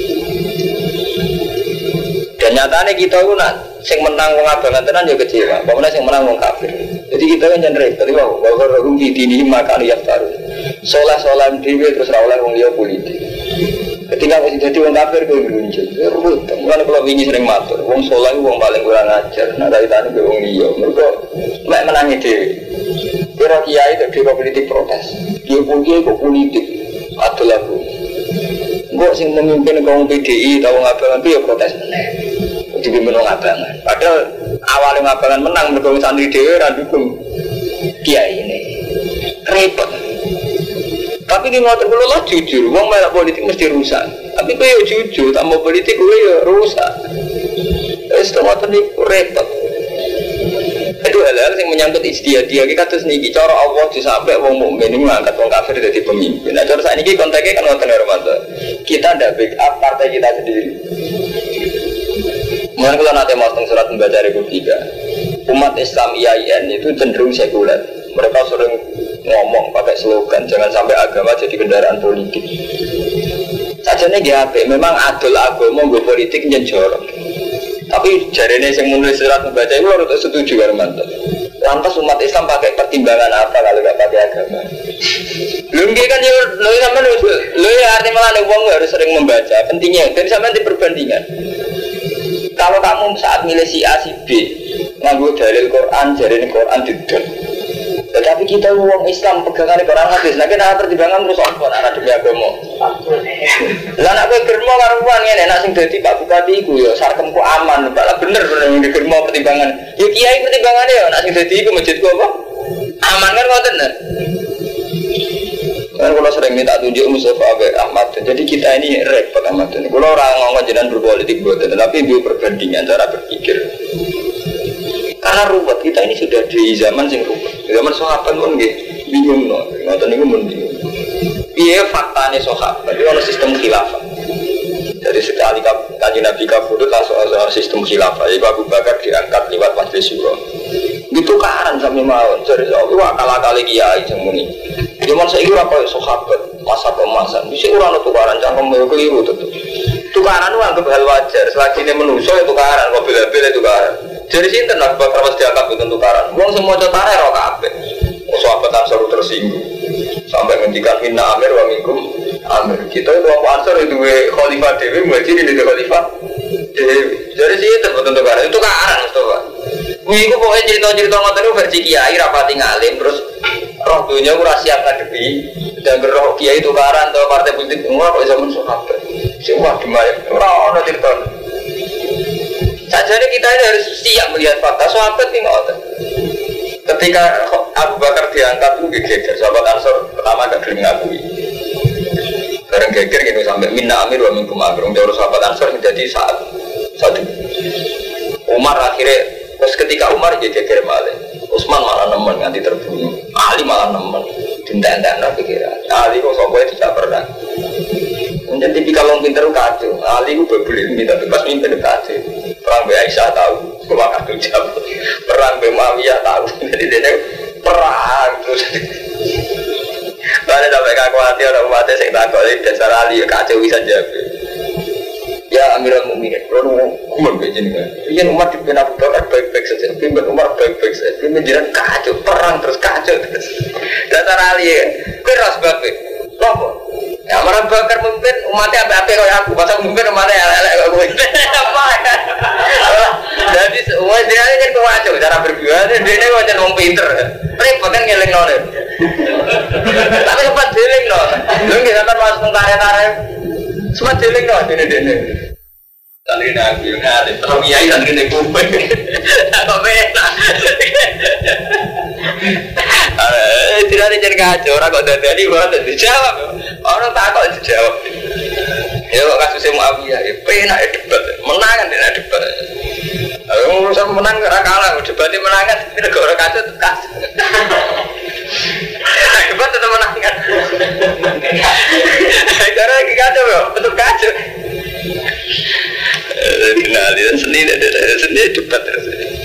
Dan nyatanya kita itu sing menang wong abangan tenan ya kecewa. Pokoknya sing menang wong kafir. Jadi kita kan jangan repot. Bahwa rohum di dini maka lihat baru. Solah-solah dewi terus oleh wong liya politik. Ketika masih jadi wong kafir gue muncul. Ya rubut. Mulane kalau wingi sering matur, wong solah itu wong paling kurang ajar. Nah kaitane ke wong liya. Mergo mek menangi dhewe. Kira kiai itu politik protes. Dia punya kok politik adalah bu. Gue sing memimpin kaum PDI tahu ngapain itu ya protes meneh. Dipimpin ngabangan. Padahal awalnya ngabangan menang mergo santri dhewe ra dukung kiai ini. Repot. Tapi di motor kalau lah jujur, wong melak politik mesti rusak. Tapi kowe yo jujur, tambah politik kowe yo rusak. Wis motor ni repot. Itu hal-hal yang menyangkut istiadah. Kita terus niki cara Allah disampai wong mukmin ngangkat wong kafir jadi pemimpin. Nah cara saat ini konteksnya kan ngoten Ramadan. Kita ndak backup partai kita sendiri. Mungkin kalau nanti mau surat membaca Republika, umat Islam IAIN itu cenderung sekuler. Mereka sering ngomong pakai slogan jangan sampai agama jadi kendaraan politik. Sajane GHP memang adol agama nggo politik nyen jorok. Tapi jarene sing menulis surat membaca itu harus setuju karo mantan. Lantas umat Islam pakai pertimbangan apa kalau enggak pakai agama? Lungge kan yo lho sampean lho ya arti malah wong harus sering membaca. Pentingnya dan sampean di perbandingan. Kalau kamu saat milih si A si B nganggo dalil Quran, jarene Quran didol. Tetapi kita uang Islam pegangan Quran hadis, nah kita pertimbangan terus apa anak demi agama. Lah nak kowe germo karuan ngene nek sing dadi Pak Bupati iku ya sarkemku aman, Pak bener ning germo pertimbangan. Ya kiai pertimbangane ya nek sing dadi iku masjidku apa? Aman kan ngoten. Kan kalau sering minta tunjuk Mustafa Abe Ahmad, jadi kita ini repot amat. Kalau orang ngomong jenengan berpolitik buat, tapi bio perbandingan cara berpikir. Karena ruwet kita ini sudah di zaman sing ruwet. Zaman sahabat pun nggih bingung no. Ngoten niku mun bingung. Piye faktane sahabat? Tapi ono sistem khilafah. Jadi sekali Kanjeng Nabi kabudut langsung sistem khilafah. Jadi Abu Bakar diangkat lewat majelis syuro. Itu karan sampe mawon. Jadi akal-akale kiai sing muni. Zaman saiki ora koyo sahabat masa pemasan. Bisa ora ono tukaran cangkem keliru tetep. Tukaran itu anggap hal wajar. Selagi ini manusia itu tukaran, kok bila-bila tukaran. Jadi sinten Abu Bakar mesti dianggap itu tukaran. Wong semua cetare ora kabeh. Sahabat Ansor tersinggung. Sampai ngendikan inna amir wa minkum amir. Kita itu Ansor itu khalifah dewi, muhajirin itu khalifah dewi. Jadi sinten betul tukaran. Itu tukaran Mustafa. Iku pokoknya cerita-cerita ngoten niku versi kiai rapati ngalim terus roh dunya ora siap ngadepi dan roh kiai tukaran atau partai politik semua kok zaman sahabat. Semua demai ora ono cerita. Sajane kita ini harus siap melihat fakta sahabat ini ngoten. Ketika Abu Bakar diangkat itu geger, sahabat Ansor pertama gak gelem ngakui. Bareng geger gitu sampai minna amir wa minkum amir. Untuk sahabat Ansor menjadi satu. Umar akhirnya, terus ketika Umar jadi geger malah, Utsman malah nemen nganti terbunuh, Ali malah nemen, dinten-dinten pikiran. Ali kok sampai tidak pernah. Menjadi kalau pinter kacau, Ali itu berbeli minta bebas mimpin kacau. Perang Aisyah tahu, sekolah kacau jam. Perang Muawiyah tahu, jadi dia perang terus. Mana sampai kaku hati orang umatnya saya takut, dasar Ali kacau bisa jawab. Ya Amirul Mukminin, kalau umur begini kan, ini umat di Abu Bakar baik-baik saja, pimpin Umar baik-baik saja, pimpin jiran kacau, perang terus kacau terus. Dasar Ali kan, keras banget, loh. Ya Abu Bakar memimpin umatnya apa-apa kalau aku, masa memimpin umatnya elek-elek kalau gue. Apa kan? Jadi semua dia ini kan kacau cara berjuang, dia ini macam orang pinter, repot kan ngeling nol. Tapi sempat dealing nol, lu nggak sampai masuk karya-karya. Semua jeling dong, dene. Tadi nak bilang ada, terus kiai tadi nak kuping, apa beda? Tidak ada jadi kacau, orang kok dari mana dijawab, orang tak kok dijawab. Ya kok kasusnya Muawiyah, penak debat, menangan dia debat. Urusan menang karena kalah, debatnya menangan, tidak orang kacau kacau. Debat tetap menangan. Karena lagi kacau ya, betul kacau. Kenali seni debat terus.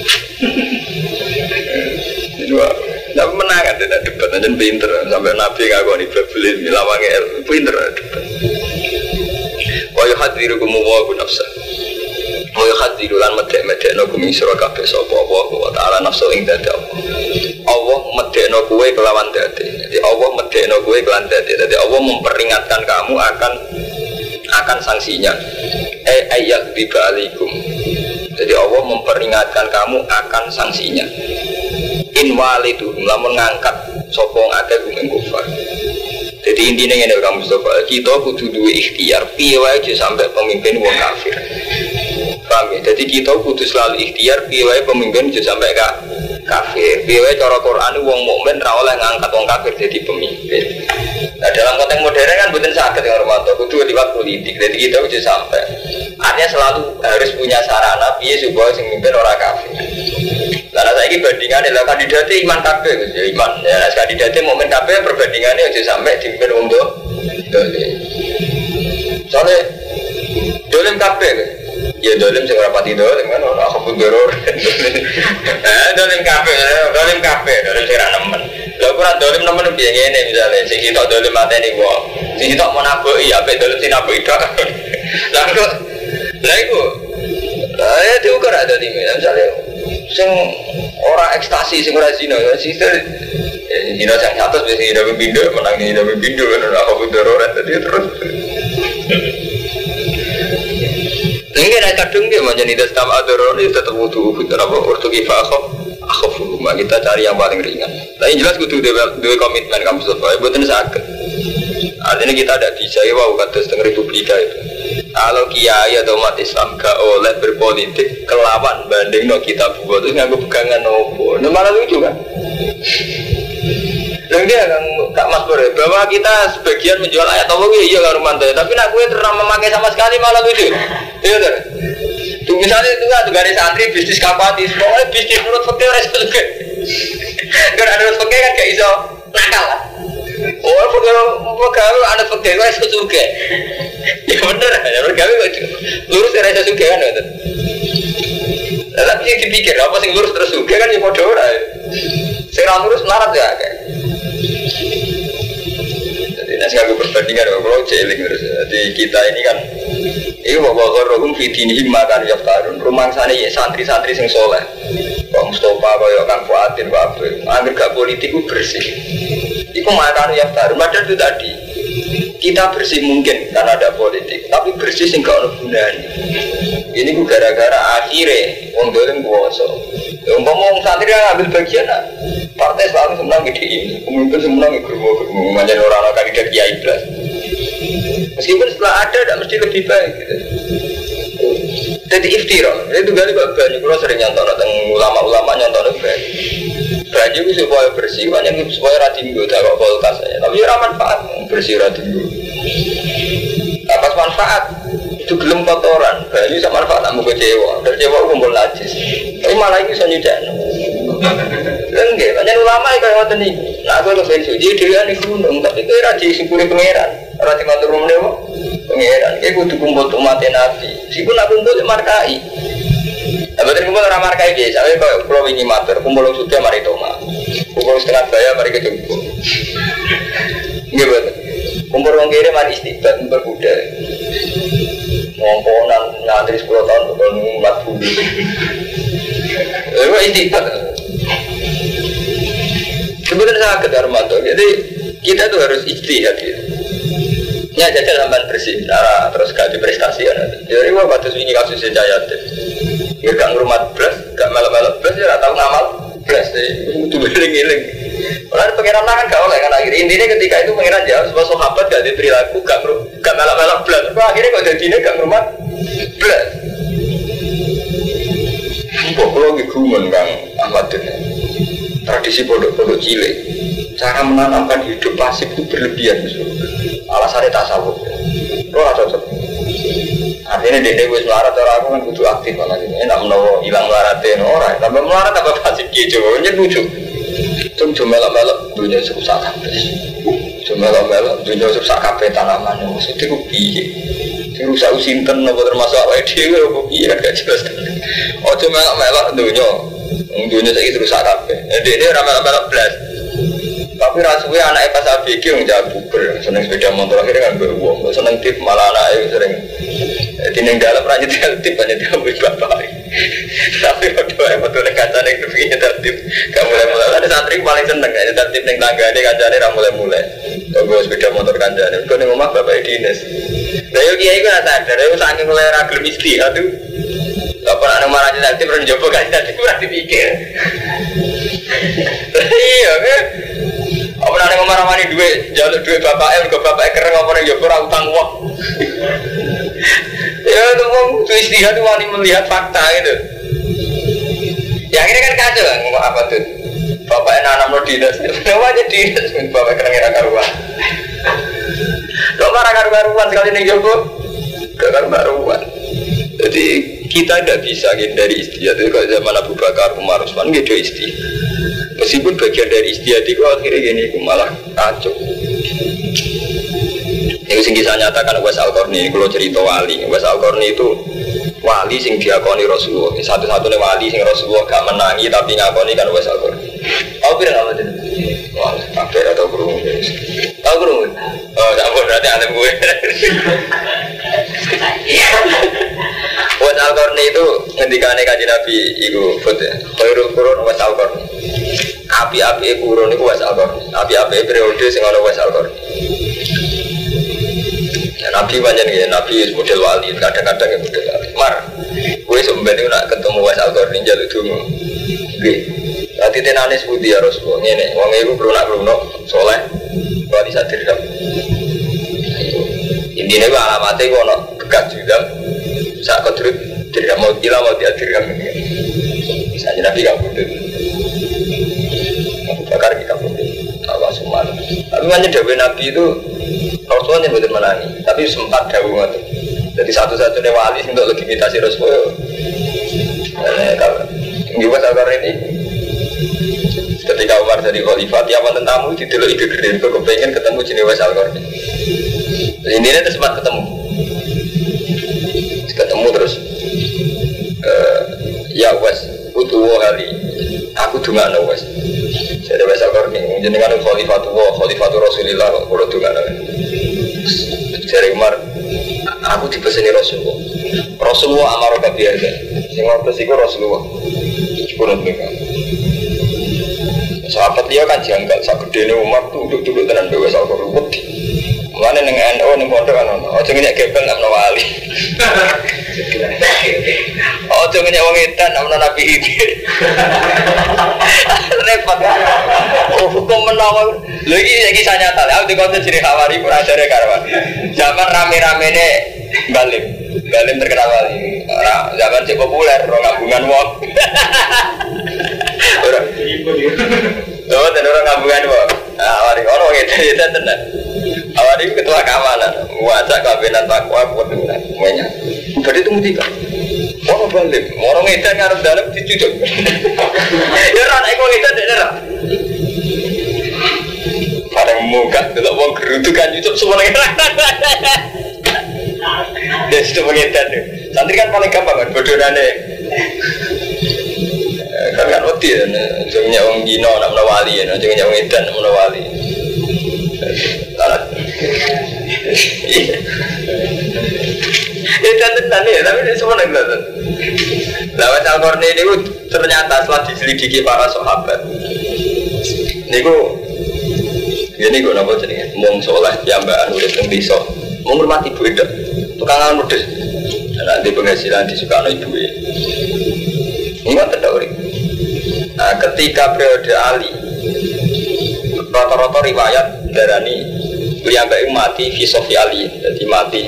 Tapi menangan tidak debat, aja pinter sampai Nabi ngakoni berbelin milawangnya pinter debat. Wa yuhadirukum wa nafsa. Wa yuhadirulan medek-medekno kumi sira kabeh sapa wa ta'ala nafsu ing dadi Allah medekno kowe kelawan dadi. Jadi Allah medekno kowe kelawan dadi. Jadi Allah memperingatkan kamu akan sanksinya. Ayat bibalikum. Jadi Allah memperingatkan kamu akan sanksinya. In walidu lamun ngangkat sapa ngake gumeng kufar. Jadi intinya ngene kamu Mustafa, kita kudu duwe ikhtiar piye wae aja sampai pemimpin wong kafir. Paham ya? Jadi kita kudu selalu ikhtiar piye wae pemimpin aja sampai kafir. Piye wae cara Quran wong mukmin ra oleh ngangkat wong kafir jadi pemimpin. Nah, dalam konteks modern kan mboten saged yang Romanto kudu liwat politik. Jadi kita aja sampai. Artinya selalu harus punya sarana piye supaya sing mimpin ora kafir. Karena saya ini bandingan adalah kandidatnya iman kabeh, ya iman. Ya, kandidatnya mukmin kabeh perbandingannya aja sampai dipimpin untuk dolim. Soalnya dolim kabeh, ya dolim sing rapati dolim kan orang kabut teror. Dolim kabeh, dolim sing ra nemen. Lha ora dolim nemen piye ngene misale sing kita dolim mateni wong. Sing kita mau nabuki ape dolim sing nabuki tok. Lah iku. Ya diukur ada di misalnya sing ora ekstasi sing ora zina ya sister zina sing atas biasa zina pembindo menang zina pembindo kan ora apa teror tadi terus enggak ada kadung dia macam itu setiap teror itu tetap butuh apa waktu kita akhafu kita cari yang paling ringan tapi jelas kudu dua komitmen kamu supaya buatan sakit artinya kita ada bisa ya wow kata setengah republika itu. Kalau kiai atau umat Islam gak oleh berpolitik kelawan banding no kita buat itu nganggo pegangan nopo. Nah malah lucu kan? Lalu Yang dia Kak Mas Pur, bahwa kita sebagian menjual ayat Allah iya Kak Rumanto, tapi nak gue terang memakai sama sekali malah lucu. Iya kan? Tuh misalnya itu kan garis santri bisnis kapatis, pokoknya bisnis menurut fakir resiko juga. Karena menurut fakir kan gak iso nakal lah. Oh, pegawai anak pegawai resiko juga. Ya bener, ya pegawai kok lurus resiko juga kan itu. Tapi sih dipikir apa sih lurus terus juga kan ya bodoh lah. Saya lurus melarat ya kayak. Jadi nasi aku perbandingan kalau jeling terus. Jadi kita ini kan, ini bawa korong fitini makan yaftarun. Rumah sana ya santri-santri sing soleh. Pak Mustafa, Pak Kang Fuadin, Pak Abdul. Angger gak politik itu bersih. Itu makan yaftarun. Padahal itu tadi kita bersih mungkin karena ada politik, tapi bersih sing gak ono gunane. Ini ku gara-gara akhirnya wong dolen kuwasa. Ngomong santri yang ambil bagian lah. Partai selalu semenang gede ini, pemimpin semenang germo-germo, macam orang-orang kandidat kiai belas. Meskipun setelah ada, tidak mesti lebih baik. Gitu. Jadi iftira, itu kali banyak kalau sering nyontok tentang ulama-ulama nyontok banyak. Banyak itu supaya bersih, banyak itu supaya ratimbu, tak kok kualitas saya. Tapi ya manfaat bersih ratimbu. Apa manfaat? Itu gelem kotoran, banyak sama manfaat kamu kecewa, kecewa kumpul najis. Tapi malah itu bisa nyucian. Enggak, banyak ulama yang kayak waktu ini. Nah, aku lebih suci dirian di gunung, tapi itu raji sepuluh pangeran, raji maturun dewa, pangeran. Kayak kudu kumpul umat Nabi. Meskipun aku kumpul markai. Nah, betul kumpul orang markai biasa. Tapi kalau pulau ini matur, kumpul suci mari toma, kumpul setengah daya mari kejumpu. Enggak betul. Kumpul orang kiri mari istiqbat, kumpul kuda. Ngomponan ngantri 10 tahun bukan umat bumi. Itu istiqbat. Sebenarnya sangat Armanto. Jadi kita tuh harus ijtihad gitu. Ya jajal sampai bersih, cara terus ganti prestasi kan. Jadi wah batas ini kasusnya Jayat. Ya gak ngurmat belas, gak melok-melok belas ya tahu ngamal belas deh. Itu beling-beling. Orang pengiran kan gak oleh kan akhirnya intinya ketika itu pengiran jauh sebuah sahabat gak ada perilaku gak melok-melok belas. Akhirnya kok jadinya gak ngurmat belas. Kok kalau gigumun Kang Ahmad ini. Tradisi pondok-pondok cilik, cara menanamkan hidup pasif itu berlebihan. Alasannya tasawuf. Lo ada cocok. Artinya dia wis melarat orang aku kan kudu aktif malah ini. Enak menawa hilang melaratnya orang. Tambah melarat tambah pasif gitu. Ini lucu. Cuma melok-melok dunia susah kabeh. Cuma melok-melok dunia susah kabeh tanaman. Maksudnya itu piye? Rusak usinten apa termasuk awake dhewe apa piye kan gak jelas. Oh cuma melok-melok dunia. Dunia saya terus akabe. Ini ramai-ramai belas. Tapi rasanya anaknya pas ABG yang jago seneng sepeda motor akhirnya kan beruang. Seneng tip malah anaknya sering. Tineng dalam rajin tip hanya diambil bapak. Tapi waktu betul kancane itu begini tertib. Kamu mulai ada santri paling seneng aja tertib neng tangga ini kancane mulai. Tunggu sepeda motor kancane. Kau neng rumah bapak dinas. Dari kiai kan sadar. Dari saking mulai ragil mesti aduh. Apa anak marahnya nanti pernah coba kan nanti kurang dipikir. Iya kan? Apa anak marah-marah duit, jalur duit bapaknya, juga bapaknya keren apa nih coba utang uang. Ya itu mau istihad itu wani melihat fakta gitu. Ya akhirnya kan kacau kan ngomong apa tuh? Bapaknya nanam lo dinas, kenapa aja dinas? Bapaknya keren ngira karuan. Kok marah karuan sekali nih coba? Karuan. Jadi kita tidak bisa hindari istihad itu kalau zaman Abu Bakar, Umar, Utsman gitu istihad. Meskipun bagian dari istihad itu akhirnya gini malah kacau. Yang kisah nyatakan Uwais Al-Qarni, kalau cerita wali, Uwais Al-Qarni itu wali sing diakoni Rasulullah. Satu-satunya wali sing Rasulullah gak menangi tapi ngakoni kan Uwais Al-Qarni. Tahu kira apa itu? Wah, kabeh atau kurung. Tahu kurung? Oh, tak berarti alim gue. Uwais Al-Qarni itu ngendikane Kanjeng Nabi iku khairul qurun Uwais Al-Qarni. Api-api qurun iku Uwais Al-Qarni. Api-api periode sing ana Uwais Al-Qarni. Nabi banyak nih, Nabi model wali, kadang-kadang yang model wali. Mar, gue sebenarnya nak ketemu Uwais Al-Qarni jalur dulu. Gue, nanti tenanis budi ya Rasulullah. Ini, wong ibu berunak soleh, wali sadir dam. Intinya gue alamatnya gue nak bekas juga. Saat kau turut tidak mau gila mau dihadirkan. Misalnya Nabi kamu itu, Abu Bakar kita pun, Abu Sumar Tapi makanya Dewi Nabi itu Rasulullah yang betul menangi, tapi sempat Dewi itu. Jadi satu-satunya wali untuk legitimasi Rasulullah. Nah, kalau Ngiwas Al ini ketika Umar jadi khalifah, tiap wonten tamu didelok ide gede, kok kepengen ketemu Ngiwas Al ini. Ini itu sempat ketemu terus. Ya Wes, utuh hari, aku dunga no Wes. Saya Wes Al ini, jenengan khalifatu Rasulillah, kalau dunga no. Saya Umar, aku dipeseni Rasulullah amaro kabiarga. Sing ngotos iku Rasulullah. Sepuluh mereka. Sahabat dia kan janggal, sak gedene Umar tuh duduk tenan dhewe sak ruwet. Mulane ning NU ning pondok kan ono. Aja ngenyek gebel nang wali. Aja ngenyek wong edan nang Nabi iki. Repot. Hukum menawa. Lho iki kisah nyata. Aku dikonten jeneng Hawari ora jare karwan. Zaman rame-ramene Balim terkenal wali. Zaman cek populer, orang gabungan wong. Orang gabungan wong. Awari orang itu tenan. Awari ketua keamanan, wajah kabinet takwa kebetulan semuanya. Jadi itu mutika. Orang Balim, orang itu ngarep dalam dicucuk. Ya orang itu tidak. Pada muka, kalau wong gerutu kan cucuk semuanya. Dia sudah mengedan deh. Santri kan paling gampang kan, bodohane. Kan wedi ya, jangan orang Gino nak menawali ya, jangan orang edan nak menawali. Edan tenan ya, tapi ini semua nak kelihatan. Lawat Al-Qarni ini ternyata setelah diselidiki para sahabat, ini gue nampak jadi mung soleh, jambaan udah tembisa, menghormati ibu itu. Tukangan mudes, nanti penghasilan disukai oleh ibu. Ingat tidak ori. Nah, ketika periode Ali, rata-rata riwayat darani Liambek mati filosofi Ali, jadi mati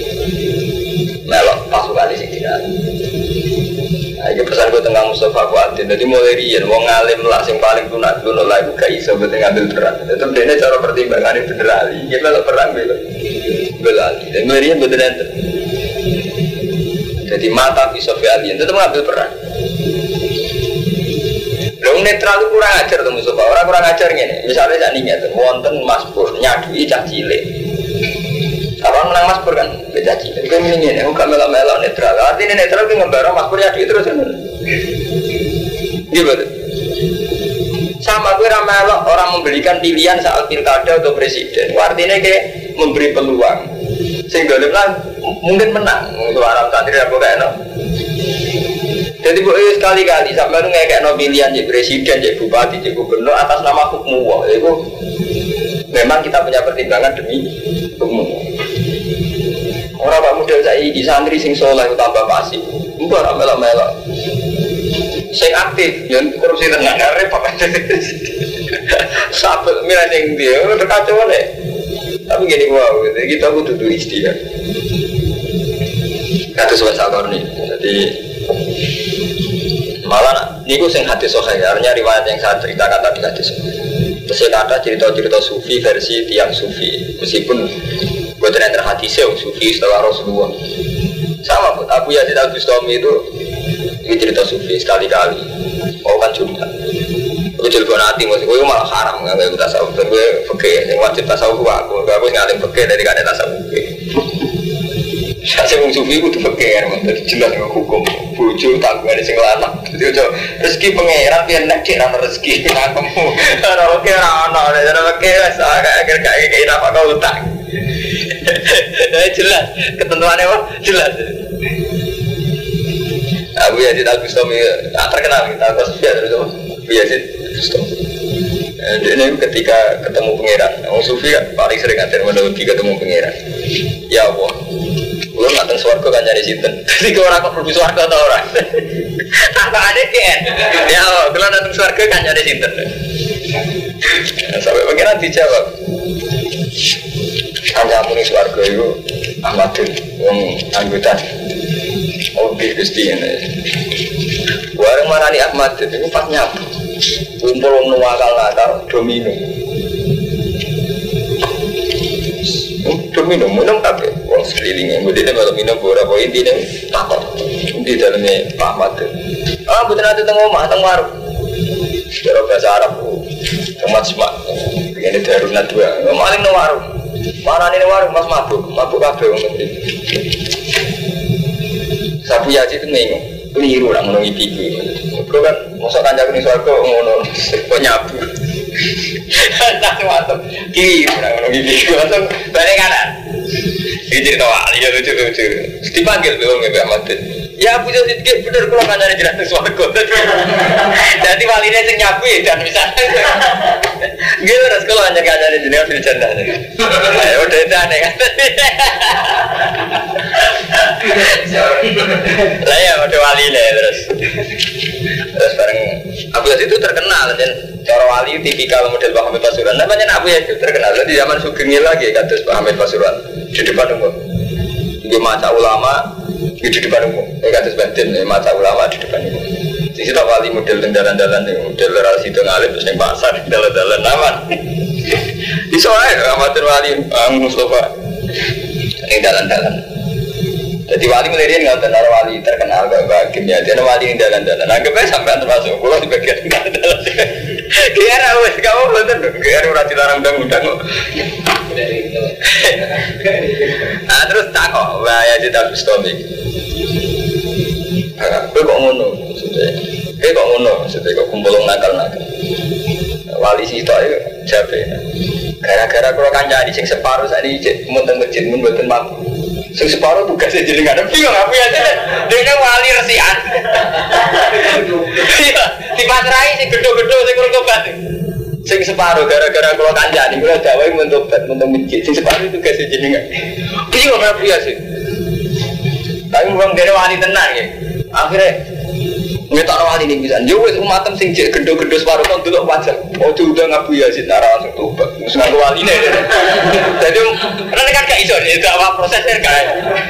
melok pasukan di sini. Nah, ini pesan gue tentang Mustafa Kuatin. Jadi mulai rian, wong alim lah, yang paling tunat dulu lah, gue gak iso betul ngambil peran. Itu dia cara pertimbangan ini bener Ali. Dia melok perang belali. Dan mulai rian betul nanti. Jadi mata filosofi Ali itu mengambil peran. Long netral itu kurang ajar tuh Mustafa. Orang kurang ajar gini. Misalnya saya ingat, wonten Mas Pur nyadui cah cilik. Apa menang Mas Pur kan beda cilik. Itu ini enggak melok-melok netral. Artinya netral itu ngembarang Mas Pur nyadui terus kan. Gimana? Sama gue ramelok orang memberikan pilihan saat pilkada atau presiden. Artinya kayak memberi peluang. Sehingga mungkin menang. Untuk Arab santri aku kayak no. Jadi sekali-kali sampai lu kayak no pilihan jadi presiden, jadi bupati, jadi gubernur atas nama hukum wah. Itu memang kita punya pertimbangan demi hukum. Orang pak muda saya di santri sing soleh tambah pasif. Enggak melok-melok. Sing aktif, yang korupsi tenang, repot. Sampai milih yang dia, udah kacau nih. Tapi gini wow, kita butuh istilah. Kata sobat Al-Qarni, jadi malah ini gue sing hadis sohail, artinya riwayat yang saya ceritakan tadi hadis. Terus ada cerita-cerita sufi versi tiang sufi, meskipun gue ternyata hadisnya sufi setelah Rasulullah. Sama pun Abu Yazid Al-Bustami itu cerita sufi sekali-kali. Oh kan Jumat. Gue jelbon hati, maksud gue malah haram nggak gue tasawuf. Gue fakir, yang wajib tasawuf aku ngalim fakir dari kada tasawuf. Saya sufi itu fakir, jelas dengan hukum. Bujuk tanggungan di singlanak. Jadi rezeki pangeran biar nak kira rezeki kamu. Kalau kira anak, kalau fakir saya kayak apa kau utang. Jelas ketentuannya apa? Jelas. Abu Yazid Al-Bustami terkenal kita kasus dia terus Abu Yazid Al-Bustami. Ini ketika ketemu pangeran, orang sufi paling sering ngatain menologi ketemu pangeran. Ya Allah, lu nggak swarga kan nyari sinten. Jadi orang kok perlu swarga atau orang? Apa ada kan? Ya Allah, kalau datang swarga kan nyari sinten. Sampai pangeran dijawab. Kancamu ning swarga iku Ahmadun wong anggota. Oke, Gusti ini. Warung marani Ahmadun itu pas nyapu. Kumpul wong nuwakal nakal domino. minum tapi orang sekelilingnya. Kemudian kalau minum beberapa inti dan takut di dalamnya pahmat. Betul nanti tengok mah tengok warung. Cara bahasa Arab umat semak. Begini darunat dua. Maling no warung. Mana nih warung mas mabuk kafe untuk ini. Sapu yaji itu mengu. Keliru nak menungi pipi. Bro kan masa kanjak ni suarga ngono kok nyabu. Tak mantap. Keliru nak menungi pipi. Langsung balik kanan. Ini cerita wali ya lucu. Dipanggil belum Mbak Ahmad. Ya punya sedikit bener kalau kanjane jelas suarga. Jadi walinya sing nyabu ya dan misalnya. Gitu terus kalau kanjane jelas bercanda. Ayo udah aneh kan. Saya udah wali deh terus bareng Abu Yazid itu terkenal dan cara wali tipikal model Pak Hamid Pasuruan namanya Abu Yazid terkenal di zaman Sugeng lagi kados Pak Hamid Pasuruan di depan umum di mata ulama di depan umum kados Banten mata ulama di depan umum di situ wali model dalan-dalan model relasi ngalim terus yang pasar dalan-dalan aman di sore amatir wali Mustafa ini dalan-dalan. Jadi wali melirian nggak tenar wali terkenal gak kimia dia wali yang dalan-dalan. Anggapnya sampai termasuk pulau di bagian dalan-dalan. Kira wes kamu betul, kira udah dilarang undang-undang. Ah terus tak kok, ya kita Bustami. Kau kok ngono, kok ngono, kok kumpulong nakal-nakal. Wali sih itu aja capek. Gara-gara kalau kancah di sing separuh saat ini muntah masjid membuatkan mampu. Sing separuh tugasnya jadi nggak ada bingung apa ya dengan wali resian. Iya, di materai sing gedho-gedho sing kurang sing separuh gara-gara kalau kancah nih kalau Jawa mentobat masjid sing separuh tugasnya jadi nggak bingung apa ya sih. Tapi bukan dari wali tenang ya. Akhirnya nggak tahu wali ini bisa. Jauh umatem sing gedho-gedho separuh kan dulu wajar. Oh sudah ngaku ya sih nara langsung tobat. Musuh wali nih. Jadi karena kan gak iso itu apa prosesnya kan.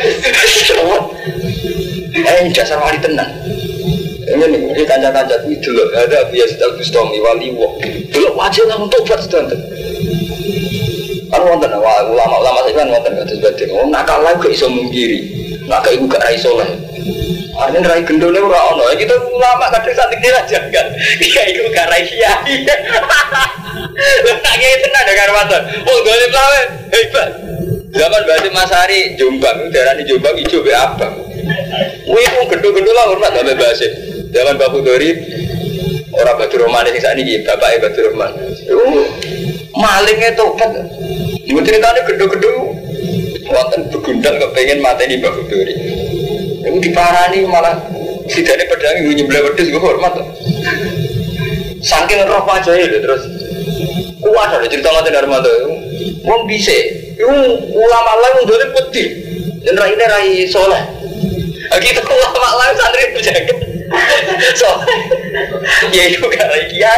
Dasar wali tenang. Ini kanca-kanca itu dulu ada biasa Al Bustami wali wong. Dulu wajar langsung tobat sedang. Kan wonten ulama-ulama saya kan wonten kados badhe. Oh nakal lagi gak iso mungkiri. Nakal iku gak ra iso lah. Artinya rai gendone ora ono. Kita ulama kadang santik aja kan. Iya iku gak rai kiai. Lha tak kiai tenan ya karo waton. Oh gole plawe hebat. Zaman Basim Masari Jombang, darani Jombang ijo be abang. Kuwi wong gendho-gendho lah hormat ambek Basim. Zaman Bapak Dori ora Badur Rahman sing sakniki bapake Badur Rahman. Malingnya tobat. Ibu ceritanya gendho-gendho wonten begundal kepengin mateni Bapak Dori. Iku diparani malah sidane pedang iku nyembelih wedhus gue hormat. Saking roh pajae lho terus kuat ada cerita ngoten Armando. Wong dhisik iku ulama lain ndone putih. Yen raine rai saleh. Kita ulama lain santri berjaga. So ya iku gak rai kiai.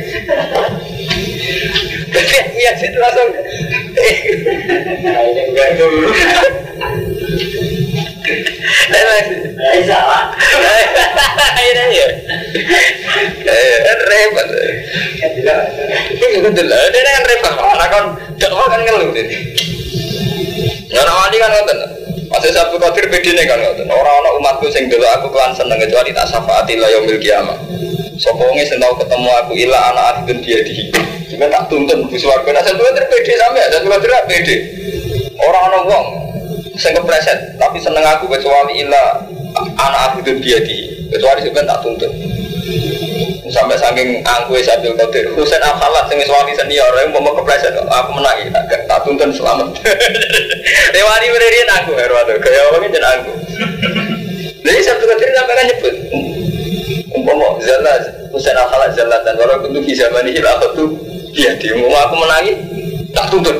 Ya situ langsung salah. Ini ya. Repot. Ini kan repot. Karena kan dakwah kan ngeluh ini. Orang wali kan ngoten. Masih Sabtu Qadir bedine kan ngoten. Orang-orang umatku sing dulu aku kelan seneng kecuali tak syafaati la yaumil qiyamah. Sapa wonge sing tau ketemu aku ila ana akhidun diadi. Cuma tak tuntun bus warga. Nah Sabtu Qadir pede sampe Sabtu Qadir pede. Orang-orang wong sing kepreset tapi seneng aku kecuali ila ana akhidun diadi. Kecuali sampe tak tuntun. Sampai saking angkuhe Sabtu Qadir. Husain Al-Khalat sing wis wali senior yang mau kepreset aku menang tak tuntun selamat. Rewani berian aku herwado kaya wong jeneng aku. Jadi Sabtu Qadir sampai kan nyebut umpama zalla Husain Al-Khalat zallatan wala kuntu fi zamanihi la khatu dia mau aku menangi tak tuntun.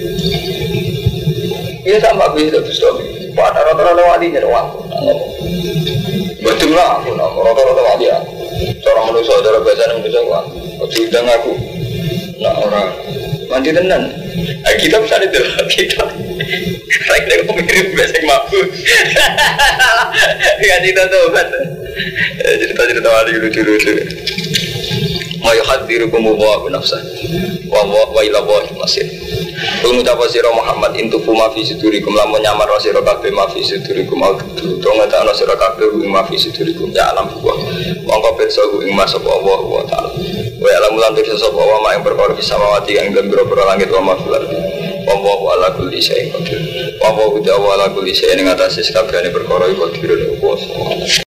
Ini sama aku itu Bustami. Pada rata-rata wali nya doang. Betul lah aku rata-rata wali ya. Cara manusia cara bahasa manusia kan. Sudah aku. Nah orang mandi tenan. Kita bisa ditelak kita. Saya kok mirip bahasa mabuk. Kan cerita tuh kan. Cerita-cerita wali lucu-lucu. ma yuhadzirukum wa nafsa wa ila Allahil masir. Kul ngucapa sira Muhammad intufu ma fi sudurikum lamun nyamar sira kabeh ma fi sudurikum au to ngetakno sira kabeh ma fi sudurikum ya alam wa mongko pirsa ing mas apa Allah wa taala wa alam lan pirsa sapa wa ma ing perkara bisa mawati ing dalem boro langit wa ma fil ardi wa ala kulli syai'in qadir wa ala kulli syai'in ing atase kabehane perkara iku qadir.